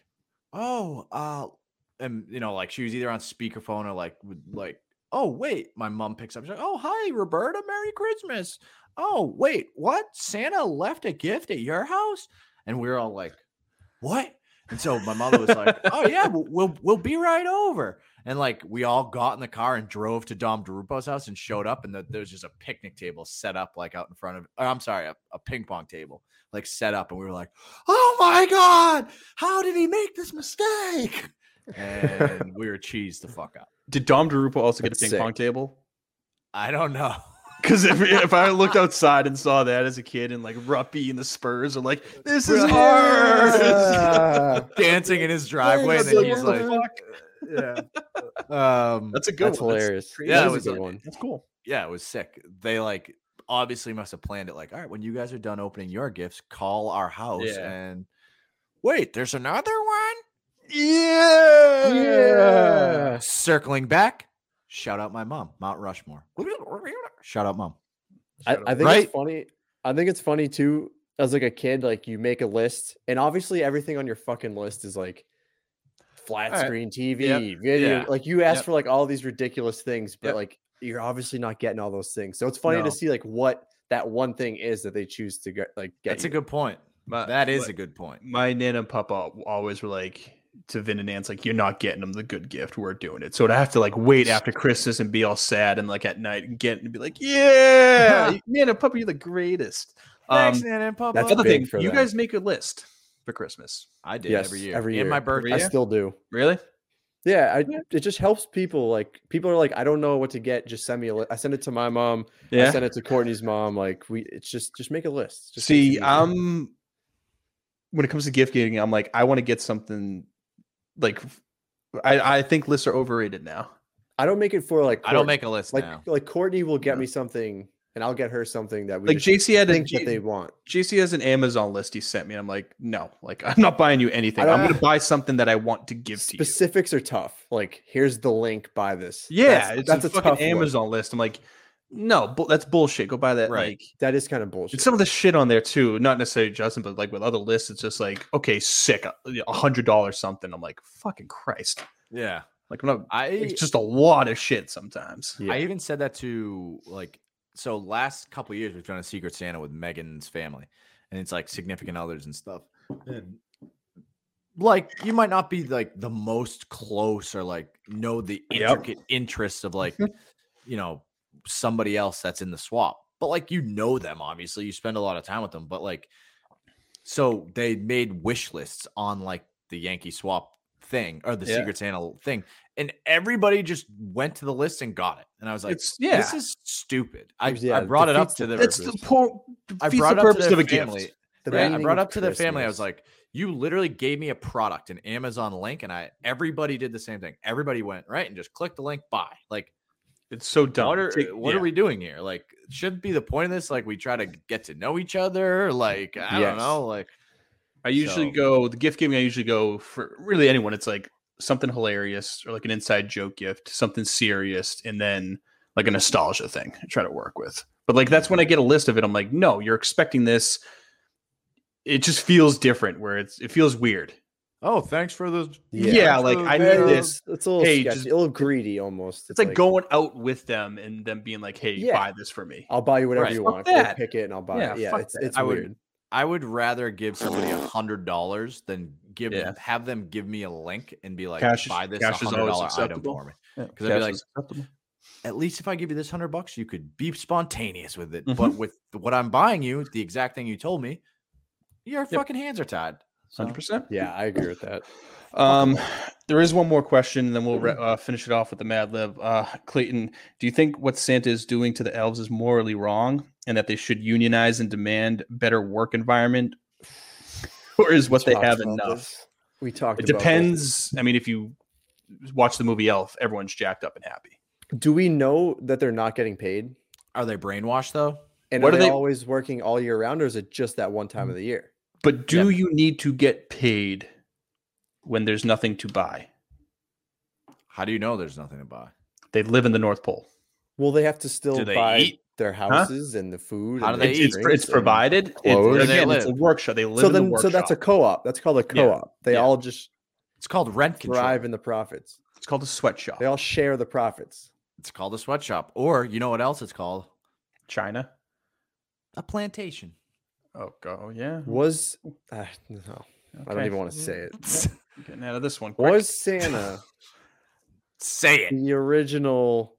and like she was either on speakerphone or like, oh wait, my mom picks up. She's like, oh hi, Roberta, Merry Christmas. Oh wait, what? Santa left a gift at your house? And we were all like, what? And so my mother was like, oh yeah, we'll be right over. And like we all got in the car and drove to Dom DeRupo's house and showed up, and there was just a picnic table set up like out in front of. I'm sorry, a ping pong table like set up, and we were like, oh my god, how did he make this mistake? And we were cheesed the fuck out. Did Dom DeRupo also get a ping pong table? I don't know. Because if I looked outside and saw that as a kid, and like Ruppy and the Spurs are like, this is hard, dancing in his driveway, and then he's like, yeah. That's a good That's one. hilarious. Yeah, That it is was a good one. That's cool. Yeah, it was sick. They like obviously must have planned it like, all right, when you guys are done opening your gifts, call our house and wait, there's another one? Yeah. Circling back, shout out my mom, Mount Rushmore. Shout out mom. I think it's funny. I think it's funny too, as like a kid, like you make a list, and obviously everything on your fucking list is like flat screen TV, video. Like you ask for like all these ridiculous things, but like you're obviously not getting all those things. So it's funny to see like what that one thing is that they choose to get. That's a good point. That is a good point. My Nana and Papa always were like to Vin and Nance, like, you're not getting them the good gift. We're doing it. So to have to like wait after Christmas and be all sad and like at night and get and be like, yeah, Nana and Papa, you're the greatest. Thanks, Nana and Papa. That's the thing. You guys make a list for Christmas. I did every year. And my birthday. I still do. Really? Yeah, it just helps people. Like people are like, I don't know what to get. Just send me a list. I send it to my mom. I send it to Courtney's mom. Like it's just make a list. Just see, when it comes to gift giving, I'm like, I want to get something. Like, I think lists are overrated now. I don't make it for like. I don't make a list like, now. Like Courtney will get me something, and I'll get her something that we like JC had think that they want. JC has an Amazon list he sent me. And I'm like, no, like I'm not buying you anything. I'm going to buy something that I want to give to you. Specifics are tough. Like, here's the link. Buy this. Yeah, that's a fucking Amazon list. I'm like, no, that's bullshit. Go buy that. Right. Like, that is kind of bullshit. And some of the shit on there too, not necessarily Justin, but like with other lists, it's just like, okay, sick, $100 something. I'm like, fucking Christ. Yeah. Like it's just a lot of shit sometimes. I even said that to like, so last couple of years we've done a Secret Santa with Megan's family, and it's like significant others and stuff. And like you might not be like the most close or like know the intricate interests of like, somebody else that's in the swap, but like them, obviously you spend a lot of time with them, but like so they made wish lists on like the Yankee swap thing or the Secret Santa thing, and everybody just went to the list and got it, and I was like, this is stupid. I brought it up to the I brought it up to the family. I brought up to the family. I was like, you literally gave me a product, an Amazon link, and everybody did the same thing. Everybody went right and just clicked the link, buy. Like, it's so dumb. What are we doing here? Like, shouldn't be the point of this. Like, we try to get to know each other. Like, I don't know. Like, I usually go the gift giving. I usually go for really anyone. It's like something hilarious or like an inside joke gift, something serious, and then like a nostalgia thing I try to work with. But like that's when I get a list of it. I'm like, no, you're expecting this. It just feels different. Where it feels weird. Oh, thanks for the Yeah, like I need this. It's a little Hey, sketchy, just- a little greedy almost. It's like going out with them and them being like, "Hey, Yeah. buy this for me." I'll buy you whatever Right. you Fuck want. that. Go pick it and I'll buy Yeah, it. Yeah, fuck it's that. it's I would- weird. I would rather give somebody $100 than Yeah. have them give me a link and be like, Cash- buy this cash is always $100 item acceptable. for me. Yeah, Because I'd be cash like, is acceptable. at least if I give you this $100, you could be spontaneous with it. Mhm. But with what I'm buying you, the exact thing you told me, your fucking hands are tied. So, 100%. Yeah, I agree with that. There is one more question, and then we'll finish it off with the Mad Lib. Clayton, do you think what Santa is doing to the elves is morally wrong, and that they should unionize and demand better work environment, or is what they Talked have about enough? this. We talked. It about this. depends. I mean, if you watch the movie Elf, everyone's jacked up and happy. Do we know that they're not getting paid? are they brainwashed though? And What are are they they- always working all year round, or is it just that one time of the year? But do you need to get paid when there's nothing to buy? How do you know there's nothing to buy? They live in the North Pole. Will they have to still Do they buy eat? their houses and the food? How and do the they eat? drinks It's and provided. clothes? Where do they Again, it's a live? workshop. They live So in the then, workshop. so that's a co-op. That's called a co-op. They Yeah. all just It's called rent control. thrive in the profits. It's called a sweatshop. They all share the profits. It's called a sweatshop. Or you know what else it's called? China. A plantation. Oh, go yeah. Was no, I don't Okay. even want to say it. Getting out of this one. quick. Was Santa Say it. the original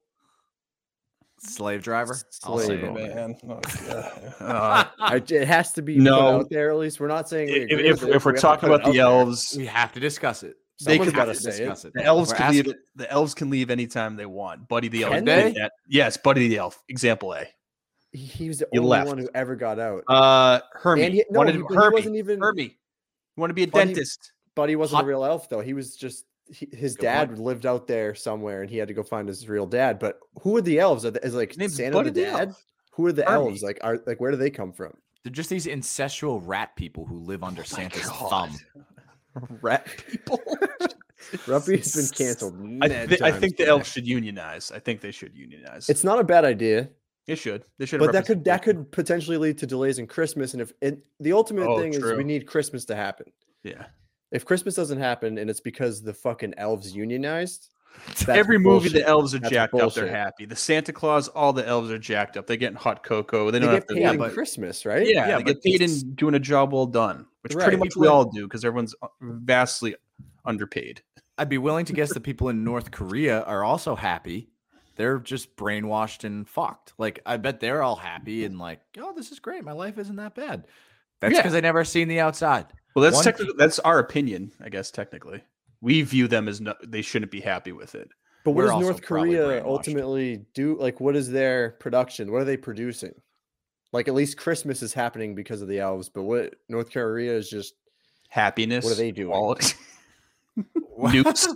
Slave driver. I'll say slave it. owner? Man. Oh, God. It has to be No. put out there. At least we're not saying we agree if with it, if we're we have to talking put it about the out there. elves, We have to discuss it. They Someone's could gotta have to say it. discuss it. the elves We're can asking- leave. The elves can leave anytime they want. Buddy the elf. Can did they? that. Yes, Buddy the elf. Example A. He was the He only left. one who ever got out. Hermie. And he- no, wanted he- but he Herbie. wasn't even- Herbie. You want to be a Buddy- dentist? But he wasn't Hot- a real elf, though. He was just his Good dad point. lived out there somewhere, and he had to go find his real dad. But who are the elves? Is like His name's Santa Buddy the the dad? Elf. Who are the Hermie. elves? Like, where do they come from? They're just these incestual rat people who live under Santa's God. thumb. Rat people. Ruppy's been canceled. I mad think times the today. elves should unionize. I think they should unionize. It's not a bad idea, They should. They should. but that could potentially lead to delays in Christmas. And the ultimate Oh, thing is true. we need Christmas to happen. Yeah. If Christmas doesn't happen and it's because the fucking elves unionized, that's Every movie, the bullshit. elves are That's jacked up. bullshit. They're happy. The Santa Claus, all the elves are jacked up. They're getting hot cocoa. They They don't get have to. paid yeah, in but- Christmas, right? Yeah, Yeah, they get but paid it's- in doing a job well done, which Right. pretty much we all do because everyone's vastly underpaid. I'd be willing to guess the people in North Korea are also happy. They're just brainwashed and fucked. Like, I bet they're all happy and like, oh, this is great. My life isn't that bad. That's Yeah. because they never seen the outside. Well, that's One- technically that's our opinion, I guess. Technically, we view them as they shouldn't be happy with it. But what We're does also North probably Korea brainwashed. ultimately do? Like, what is their production? What are they producing? Like, at least Christmas is happening because of the elves, but what North Korea is just Happiness. What are they doing? quality- Nukes.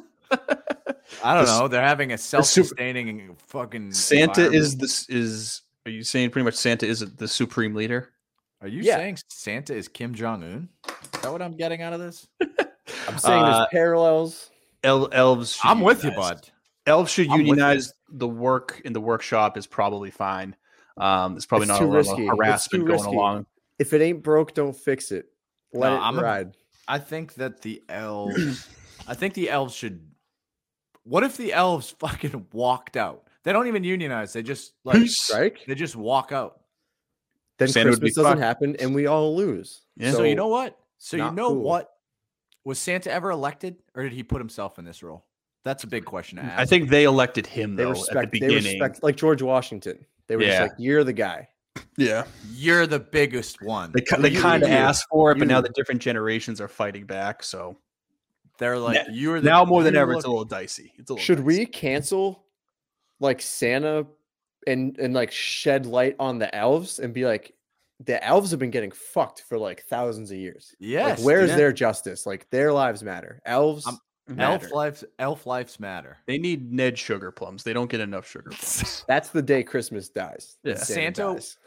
I don't The- know. They're having a self-sustaining fucking Santa is environment. this is. Are you saying pretty much Santa is the supreme leader? Are you Yeah. saying Santa is Kim Jong Un? Is that what I'm getting out of this? I'm saying there's parallels. Elves. should I'm with you, unionize. bud. Elves should I'm with you. unionize. The work in the workshop is probably fine. There's probably It's not too a lot risky. of It's harassment too going risky. along. If it ain't broke, don't fix it. Let No, it I'm a- ride. I think that the elves. I think the elves should. What if the elves fucking walked out? They don't even unionize. They just like Strike. they just walk out. Then Santa would be Christmas doesn't fucked. happen, and we all lose. Yeah. So you know what? So you not know cool. what? Was Santa ever elected, or did he put himself in this role? That's a big question to ask. I think they elected him They though respect. at the They beginning. respect, like George Washington. They were just Yeah. like, "You're the guy." Yeah, you're the biggest one. they You- kind of you- asked for it, but now you- the different generations are fighting back. So They're like you're the, now more than you ever, look- it's a little dicey. It's a little Should dicey. we cancel like Santa and like shed light on the elves and be like, the elves have been getting fucked for like thousands of years. Yes. Like, where's dude. their justice? Like, their lives matter. Elves matter. Elf lives matter. They need Ned sugar plums. They don't get enough sugar plums. That's the day Christmas dies. Yeah. Santa dies.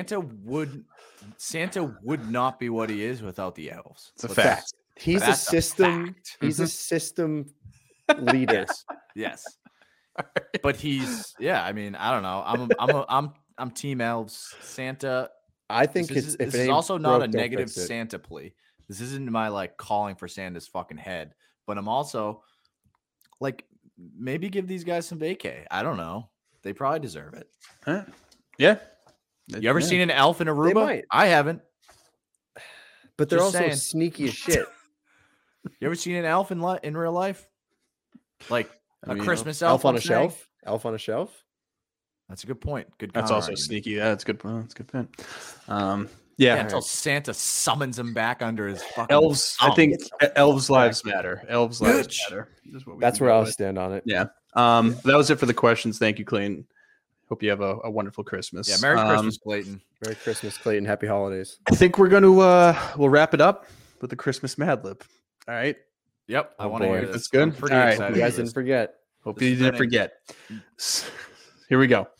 Santa would not be what he is without the elves. It's a Let's- fact. He's a That's system. fact. He's a system leader. Yes. But he's I mean, I don't know. I'm team elves. Santa I think this it's is, if this it is ain't also not broke, a don't negative fix it. Santa plea, This isn't my like calling for Santa's fucking head, but I'm also like, maybe give these guys some vacay. I don't know. They probably deserve it. Huh? Yeah. You ever seen an elf in Aruba? might. I haven't. But they're Just also saying. sneaky as shit. You ever seen an elf in real life? Like I mean, Christmas Elf on a I'm saying? shelf? Elf on a shelf? That's a good point. Good. That's counter also argument. sneaky. Yeah, that's good. That's a good point. Yeah, Yeah. until Santa summons him back under his fucking Elves. I thumb. think elves' lives matter. Elves' lives Bitch. matter. Is what we That's can where go I'll with. stand on it. Yeah. That was it for the questions. Thank you, Clayton. Hope you have a wonderful Christmas. Yeah, Merry Christmas, Clayton. Merry Christmas, Clayton. Happy holidays. I think we're going to we'll wrap it up with the Christmas Mad Lib. All right. Yep, I Oh, want to boy. hear this. That's good? I'm pretty All right. excited. You guys for didn't this. forget. Hope This you is didn't fitting. forget. Here we go.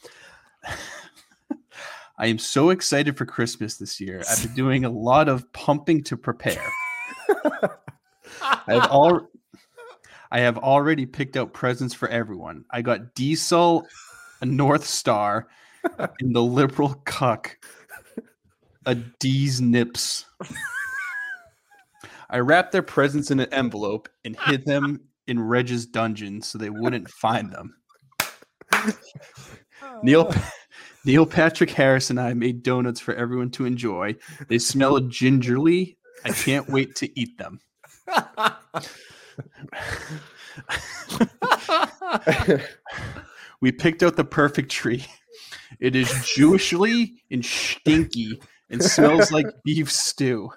I am so excited for Christmas this year. I've been doing a lot of pumping to prepare. I have already picked out presents for everyone. I got Diesel, a North Star, and the liberal cuck, a D's Nips. I wrapped their presents in an envelope and hid them in Reg's dungeon so they wouldn't find them. Neil Patrick Harris and I made donuts for everyone to enjoy. They smell gingerly. I can't wait to eat them. We picked out the perfect tree. It is Jewishly and stinky and smells like beef stew.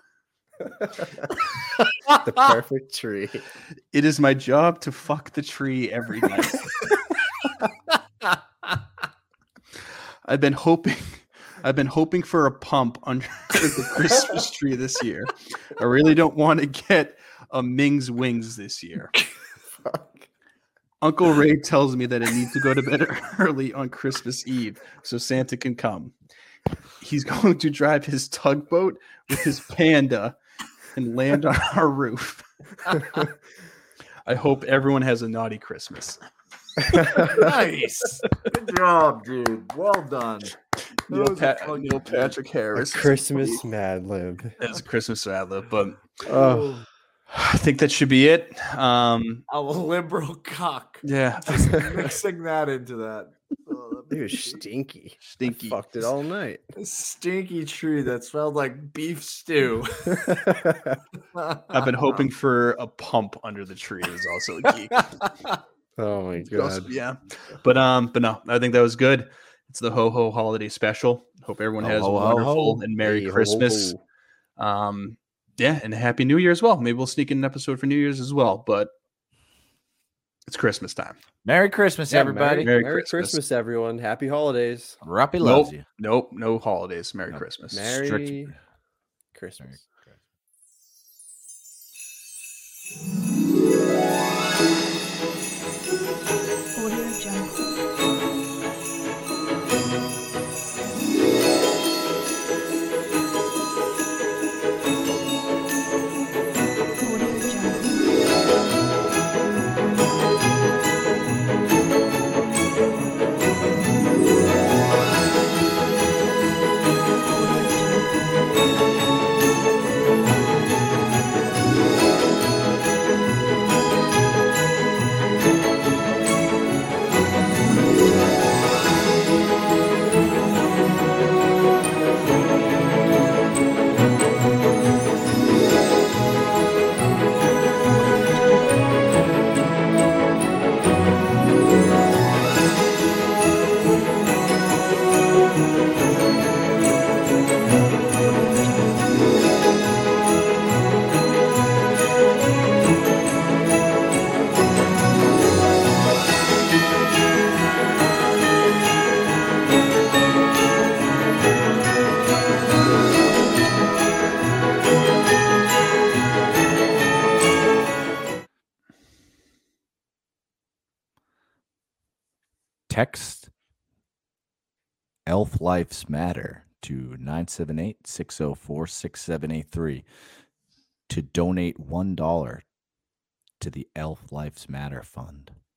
The perfect tree. It is my job to fuck the tree every night. I've been hoping for a pump under the Christmas tree this year. I really don't want to get a Ming's wings this year. Uncle Ray tells me that I need to go to bed early on Christmas Eve so Santa can come. He's going to drive his tugboat with his panda and land on our roof. I hope everyone has a naughty Christmas. Nice. Good job, dude. Well done. Neil Patrick Harris. Christmas Mad Lib. That's a Christmas Mad Lib, but Oh, I think that should be it. A liberal cock. Yeah. Just mixing that into that. Oh, it was stinky. Stinky. I fucked it all night. a stinky tree that smelled like beef stew. I've been hoping for a pump under the tree is also a geek. Oh my god. Yeah. But no, I think that was good. It's the Ho Ho holiday special. Hope everyone has a ho, ho, wonderful ho. and Merry Hey, ho, ho, Christmas. ho. Yeah, and a Happy New Year as well. Maybe we'll sneak in an episode for New Year's as well, but it's Christmas time. Merry Christmas, Yeah, everybody. Merry Merry Christmas. Christmas, everyone. Happy holidays. Rappy loves Nope, you. nope, no holidays. Merry Christmas. Merry Strict- Christmas. Audio Jungle. Audio Jungle. Text Elf Lives Matter to 978-604-6783 to donate $1 to the Elf Lives Matter Fund.